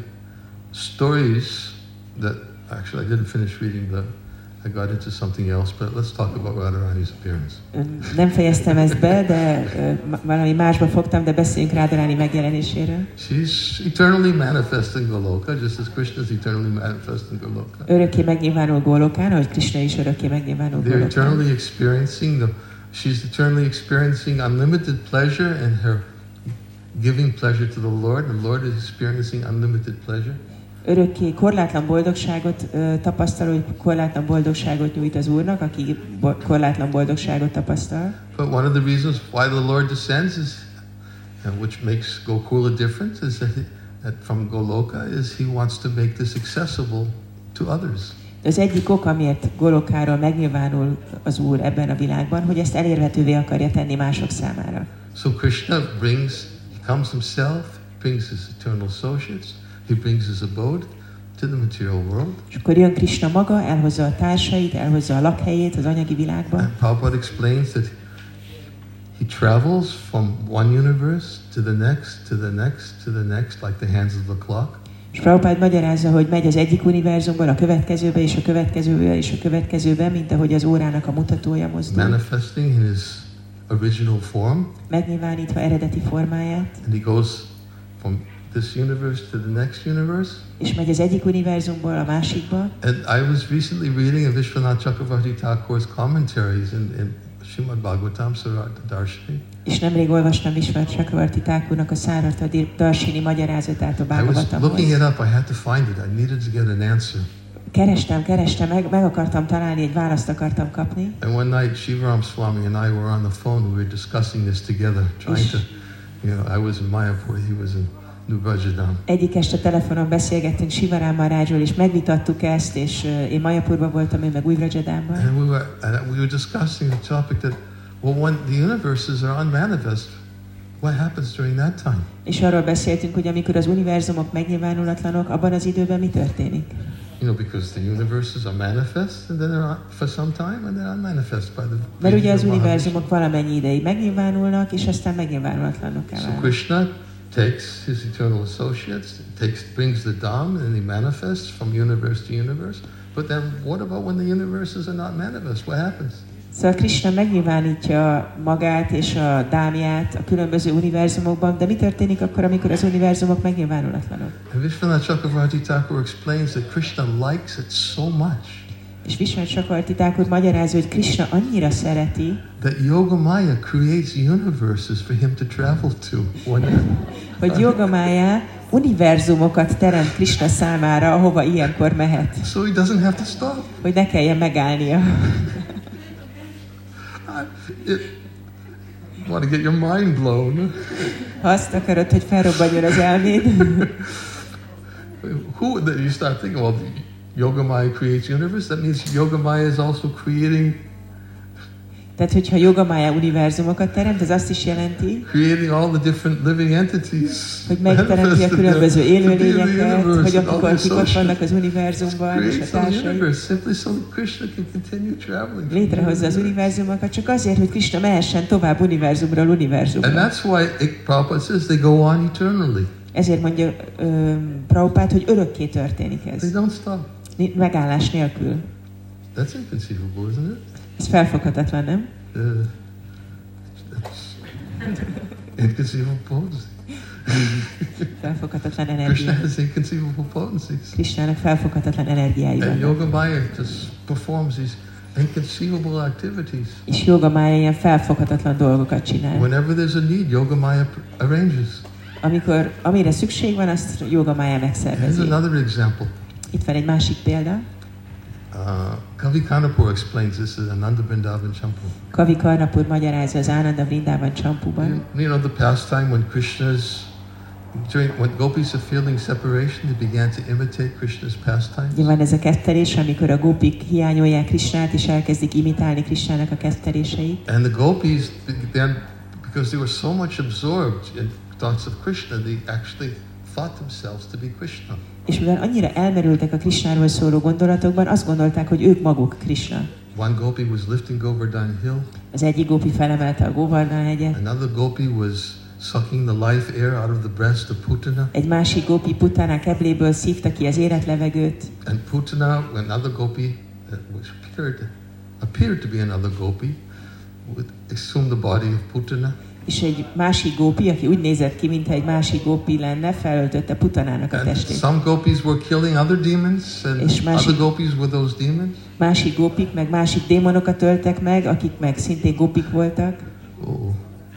stories that, actually I didn't finish reading the, I got into something else, but let's talk about Radharani's appearance. Nem fejeztem ezt be, de uh, valami másba fogtam, de beszéljünk Radharani megjelenéséről. She's eternally manifest in Goloka, just as Krishna is eternally manifest in Goloka. Örökké megnyilvánul Golokán, ahogy Krishna is örökké megnyilvánul They're Golokán. eternally experiencing the, she's eternally experiencing unlimited pleasure and her giving pleasure to the Lord. The Lord is experiencing unlimited pleasure. Örökké korlátlan boldogságot uh, tapasztal, hogy korlátlan boldogságot nyújt az Úrnak, aki bo- korlátlan boldogságot tapasztal. But one of the reasons why the Lord descends is, and which makes Gokula different, is that, he, that from Goloka is he wants to make this accessible to others. Az egyik ok, amiért Golokáról megnyilvánul az Úr ebben a világban, hogy ezt elérhetővé akarja tenni mások számára. So Krishna brings, he comes himself, brings his eternal associates, he brings his abode to the material world. És akkor jön Krishna maga, elhozza a társait, elhozza a lakhelyét az anyagi világban. And Prabhupada explains that he travels from one universe to the next, to the next, to the next, like the hands of the clock. És Prabhupád magyarázza, hogy megy az egyik univerzumból a következőbe, és a következőbe, és a következőbe, mint ahogy az órának a mutatója mozdul. Manifesting in his original form. Megnyilvánítva eredeti formáját. And he goes from this universe to the next universe. És megy az egyik univerzumból a másikba. And I was recently reading a Vishwanath Chakravarti Thakur's commentaries in, in Srimad Bhagavatam Sarata Darshini. És nemrég olvastam Vishwanath Chakravarti Thakurnak a Sarata Darshini magyarázatát a Bhagavatamhoz. I was looking it up, I had to find it, I needed to get an answer. Kerestem, kerestem, meg, meg akartam találni, egy választ akartam kapni. And one night Shivaram Swami and I were on the phone, we were discussing this together, trying to, you know, I was in Mayapur, he was in New Vrajadam. Egyik este telefonon beszélgettünk Sivaram Maharajról, és megvitattuk ezt, és uh, én Mayapurban voltam, ő meg Új Vrajadamban. And we were, and we were discussing the topic that, well, when the universes are unmanifest, what happens during that time? És arról beszéltünk, hogy amikor az univerzumok megnyilvánulatlanok, abban az időben mi történik? You know, because the universes are manifest, and then they're on, for some time, and they're unmanifest by the. Mert ugye az univerzumok valamennyi ideig megnyilvánulnak, és aztán megnyilvánulatlanok kell. So Krishna takes his eternal associates, takes, brings the Dham, and he manifests from universe to universe. But then, what about when the universes are not manifest? What happens? Szóval Krishna megnyilvánítja magát és a dámját a különböző univerzumokban, de mi történik akkor, amikor az univerzumok megnyilvánulatlanok? And Vishwanath Chakravarti Thakur explains that Krishna likes it so much. És Vishwanath Chakravarti Thakur magyarázza, hogy Krishna annyira szereti, that Yogamaya creates universes for him to travel to. hogy Yogamaya univerzumokat teremt Krishna számára, ahova ilyenkor mehet. So he doesn't have to stop. Hogy ne kelljen megállnia. It, you want to get your mind blown. Ha azt akarod, hogy felrobbanjon az elméd. Who, then you start thinking, well, Yogamaya creates universe. That means Yogamaya is also creating. Tehát, hogyha Yogamaya univerzumokat teremt, ez azt is jelenti, creating all the different living entities, hogy megteremti a különböző élőlényeket, hogy akkor kik ott vannak az univerzumban, és a társai. Létrehozza az univerzumokat, csak azért, hogy Krishna mehessen tovább univerzumról univerzumra. And that's why it, Prabhupada says they go on eternally. Ezért mondja uh, Prabhupád, hogy örökké történik ez. They don't stop. Megállás nélkül. That's inconceivable, isn't it? Ez felfoghatatlan, nem? Uh, inconceivable potency. Felfoghatatlan energia. Krishna has inconceivable potencies. Krishnának felfoghatatlan energiái vannak. And Yogamaya just performs these inconceivable activities. És Yogamaya ilyen felfoghatatlan dolgokat csinál. Whenever there's a need, Yogamaya arranges. Amikor amire szükség van, azt Yogamaya megszervezi. Here's another example. Itt van egy másik példa. Uh, Kavi Karnapur explains this in Ananda Vrindavan Champu. Kavi Karnapur magyarázza az Ananda Vrindavan Champuban. You, you know the pastime when Krishna's during when gopis are feeling separation, they began to imitate Krishna's pastimes. Ugye van ez a kettelés, amikor a gopik hiányolják Krishnát, és elkezdik imitálni Krishnának a ketteléseit. And the gopis then, because they were so much absorbed in thoughts of Krishna, they actually thought themselves to be Krishna. És mivel annyira elmerültek a Krishnáról szóló gondolatokban, azt gondolták, hogy ők maguk Krishna. One gopi was lifting Govardhan Hill. Az egyik gopi felemelte a Govardhan hegyet. Another gopi was sucking the life air out of the breast of Putana. Egy másik gopi Putana kebléből szívta ki az életlevegőt. And Putana, another gopi that was appeared, appeared to be another gopi, would assume the body of Putana. És egy másik gópi, aki úgy nézett ki, mintha egy másik gópi lenne, felöltötte Putanának a testét. Some gopis were killing other demons, and és másik, other gopis were those demons. Másik gópik, meg másik démonokat öltek meg, akik meg szintén gópik voltak. Oh,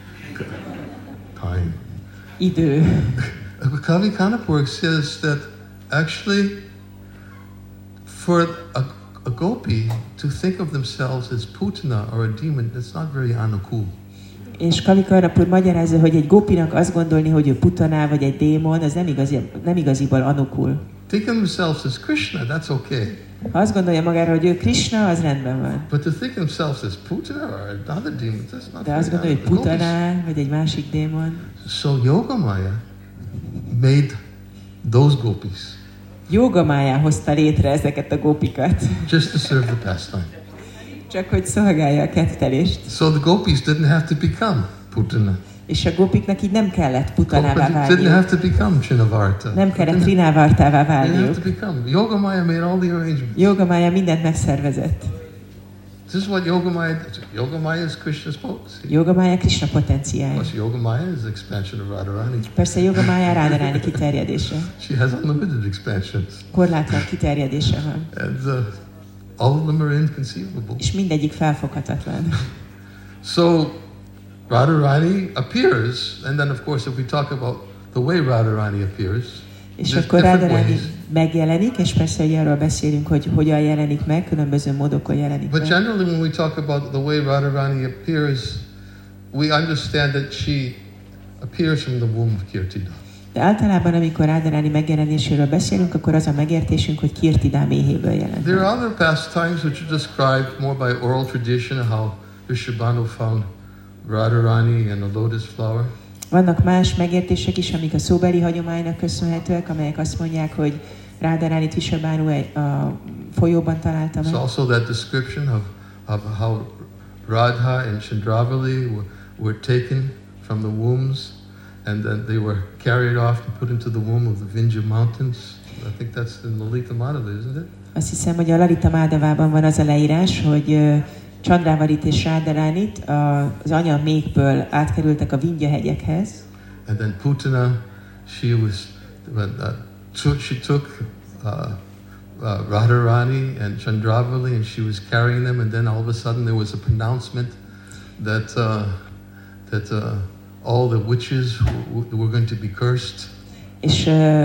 time. Idő. Kavi Karnapur says that actually, for a, a gopi to think of themselves as Putana or a demon, that's not very anukul. És Kavi Karnapur magyarázza, hogy egy gópinak azt gondolni, hogy ő Putana vagy egy démon, az nem, igazi, nem igaziból anukul. Think of themselves as Krishna, that's okay. Ha azt gondolja magára, hogy ő Krishna, az rendben van. But to think of themselves as Putana or another demon, that's not. De azt gondolja, hogy Putana vagy egy másik démon. So Yogamaya made those gopis. Yogamaya hozta létre ezeket a gópikat. Just to serve the pastime. Csak hogy szolgálja a kettelést. So the gopis didn't have to become Putana. És a gópiknak így nem kellett putanává Gopis didn't have válniuk. to become Trinavarta. Nem kellett Trinavartává They didn't have válniuk. to become. Yogamaya made all the arrangements. Yogamaya mindent megszervezett. This is what Yogamaya did. Yogamaya is Krishna's potency. Yogamaya Krishna potenciája. Plus, Yogamaya is the expansion of Radharani. Persze Yogamaya Radharani kiterjedése. She has unlimited expansions. Korlátlan kiterjedése van. And uh, all of them are inconceivable. És mindegyik felfoghatatlan. So, Radharani appears, and then of course if we talk about the way Radharani appears, És there's akkor different Radharani ways. megjelenik, és persze, hogy arról beszélünk, hogy hogyan jelenik meg, különböző módokon jelenik But meg. generally when we talk about the way Radharani appears, we understand that she appears from the womb of Kirtida. De általában, amikor Radharani megjelenéséről beszélünk, akkor az a megértésünk, hogy Kirtida méhéből jelent There meg. are other pastimes which are described more by oral tradition, how Vrishabhanu found Radharani and a lotus flower. Vannak más megértések is, amik a szóbeli hagyománynak köszönhetőek, amelyek azt mondják, hogy Radharánit Vrishabhanu egy- a folyóban találta There's meg. also that description of, of how Radha and Chandravali were, were taken from the wombs and then they were carried off and put into the womb of the Vindhya mountains. I think that's in Lalita Madhava, isn't it? Azt hiszem, hogy a Lalita Madhavában van az a leírás, hogy ö, Chandrávalit és Radharánit a- az anya méhből átkerültek a Vindhya hegyekhez, And then Putana, she was, uh, took, she took uh, uh, Radharani and Chandravali and she was carrying them and then all of a sudden there was a pronouncement that, uh, that uh, all the witches w- w- were going to be cursed. és ö,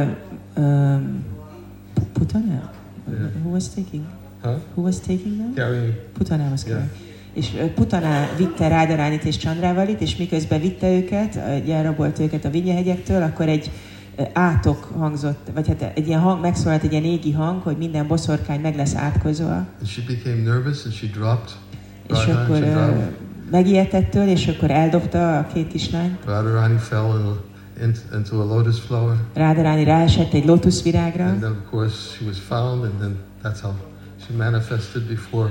ö, Putana? Yeah. Who was taking? Huh? Who was taking them? Carrying. Putana was Yeah. yeah. És ö, Putana vitte Radharánit és Chandrávalit, és miközben vitte őket, ö, elrabolt őket a Vindhya hegyektől, akkor egy ö, átok hangzott, vagy hát egy ilyen hang, megszólalt egy ilyen égi hang, hogy minden boszorkány meg lesz átkozva, And she became nervous and she dropped és Radha and akkor ö, Chandravali. megijedtettől, és akkor eldobta a két kislányt. Radharani fell in, in, into a lotus flower. Radharani ráesett egy lótuszvirágra, And then of course she was found and then that's how she manifested before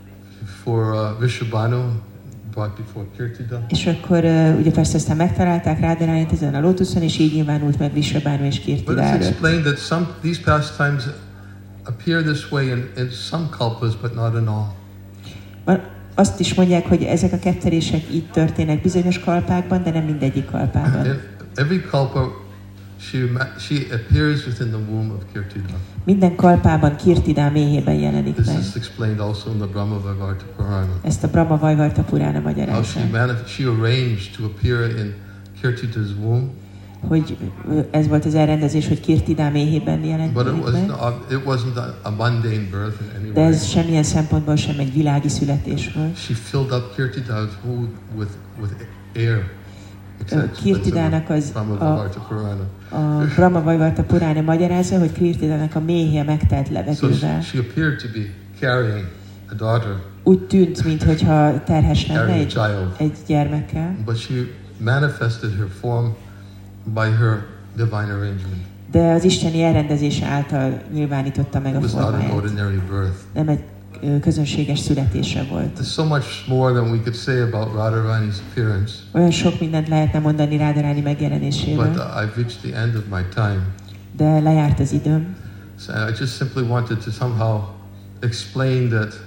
before uh, Vrishabhanu, brought before Kirtida. és akkor ö, ugye persze aztán megtalálták Radharánit ezen a lótuszon, és így nyilvánult meg Vrishabhanu és But Kirtida it's előtt. explained that some these pastimes appear this way in, in some kalpas, but not in all. Van- Azt is mondják, hogy ezek a ketterések így történnek bizonyos kalpákban, de nem mindegyik kalpában. In every kalpa, she ma- she appears within the womb of Kirtida. Minden kalpában Kirtida méhében jelenik This meg. is explained also in the Brahma Vaivarta Purana. Ezt a Brahma Vaivarta Purana How magyarázza, she manif- she arranged to appear in Kirtida's womb, hogy ö, ez volt az elrendezés, hogy Kirtida méhében jelent but it was meg, not, it wasn't a, a mundane birth in any de way. ez semmilyen szempontból sem egy világi születés volt. She filled up Kirtida's womb with with air. Except- Kirtidának az Brahma a, Vaivarta Purana. a Brahma Vaivarta Purana magyarázza, hogy Kirtidának a méhje megtelt So levegővel. she, she appeared to be carrying a daughter, Úgy tűnt, mintha terhes lenne carrying a egy, child, egy gyermekkel, but she manifested her form by her divine arrangement. de az isteni elrendezése által nyilvánította meg It a was not an formáját. ordinary birth. Nem egy ö, közönséges születése volt. There's so much more than we could say about Radharani's appearance, Olyan sok mindent lehetne mondani Radharani but megjelenéséről, uh, I've reached the end of my time. de lejárt az időm. So I just simply wanted to somehow explain that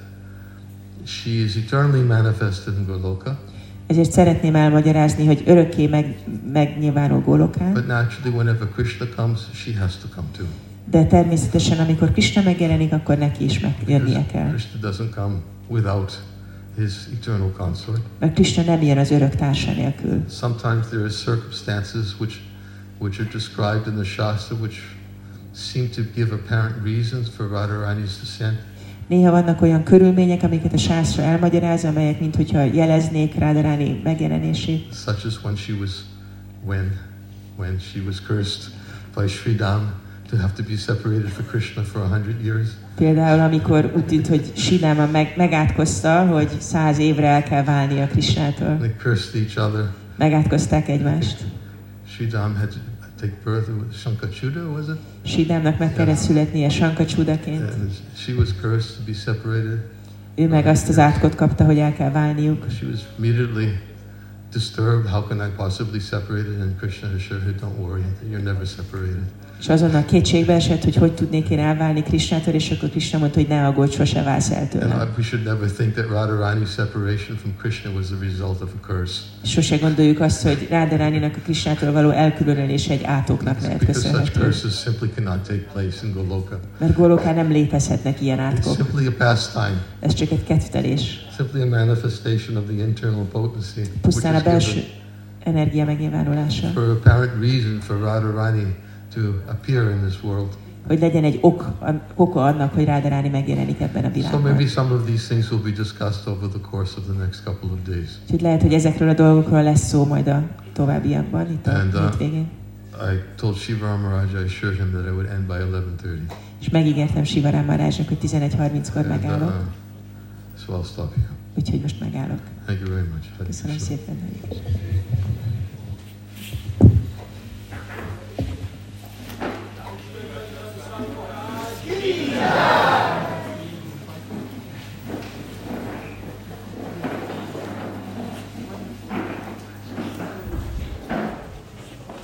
she is eternally manifested in Goloka, Ezért szeretném elmagyarázni, hogy örökké meg, megnyilvánul Gólokán, but naturally whenever Krishna comes, she has to come too. de természetesen, amikor Krishna megjelenik, akkor neki is megjönnie kell. Krishna doesn't come without his eternal consort. Mert Krishna nem jön az örök társa nélkül. Sometimes there are circumstances which, which are described in the Shastra which seem to give apparent reasons for Radharani's descent. Néha vannak olyan körülmények, amiket a sászra elmagyaráz, amelyek minthogyha jeleznék Radharani megjelenését. Such as when she was, when, when she was cursed by Sridham to have to be separated for Krishna for a hundred years. Például, amikor úgy tűnt, hogy Sidáma meg, megátkozta, hogy száz évre el kell válni a Krishnától. They cursed each other. Megátkozták egymást. Sridham had to take birth with Shankachuda, was it? Sidámnak meg kellett születnie Sankacsudaként. And she was cursed to be separated. Ő meg azt az átkot kapta, hogy el kell válniuk. She was immediately disturbed, how can I possibly separate it? And Krishna assured her, don't worry, you're never separated. És azonnal kétségbe esett, hogy hogy tudnék én elválni Krishnától, és akkor Krishna mondta, hogy ne aggódj, sose válsz el tőle. And we should never think that Radharani's separation from Krishna was the result of a curse. Sose gondoljuk azt, hogy Radharaninak a Krishnától való elkülönülés egy átoknak lehet Because such köszönhető. curses simply cannot take place in Goloka. Mert Golokán nem létezhetnek ilyen It's átkok. simply a pastime. Ez csak egy kedvtelés. Simply a manifestation of the internal potency, which Pusztán a is belső given energia megnyilvánulása. for apparent reason for Radharani to appear in this world. Hogy legyen egy ok, oka annak, hogy Radharani megjelenik ebben a So világban. maybe some of these things will be discussed over the course of the next couple of days. Úgyhogy lehet, hogy ezekről a dolgokról lesz szó majd a továbbiakban, itt a And, uh, hétvégén. I told Shiva Maharaj, I assured him that I would end by eleven thirty. És megígértem Sivarám Marázsnak, hogy tizenegy harminckor And, uh, megállok. so I'll stop here. Úgyhogy most megállok. Thank you very much. Hare Köszönöm Krishna. szépen. Hare Krishna.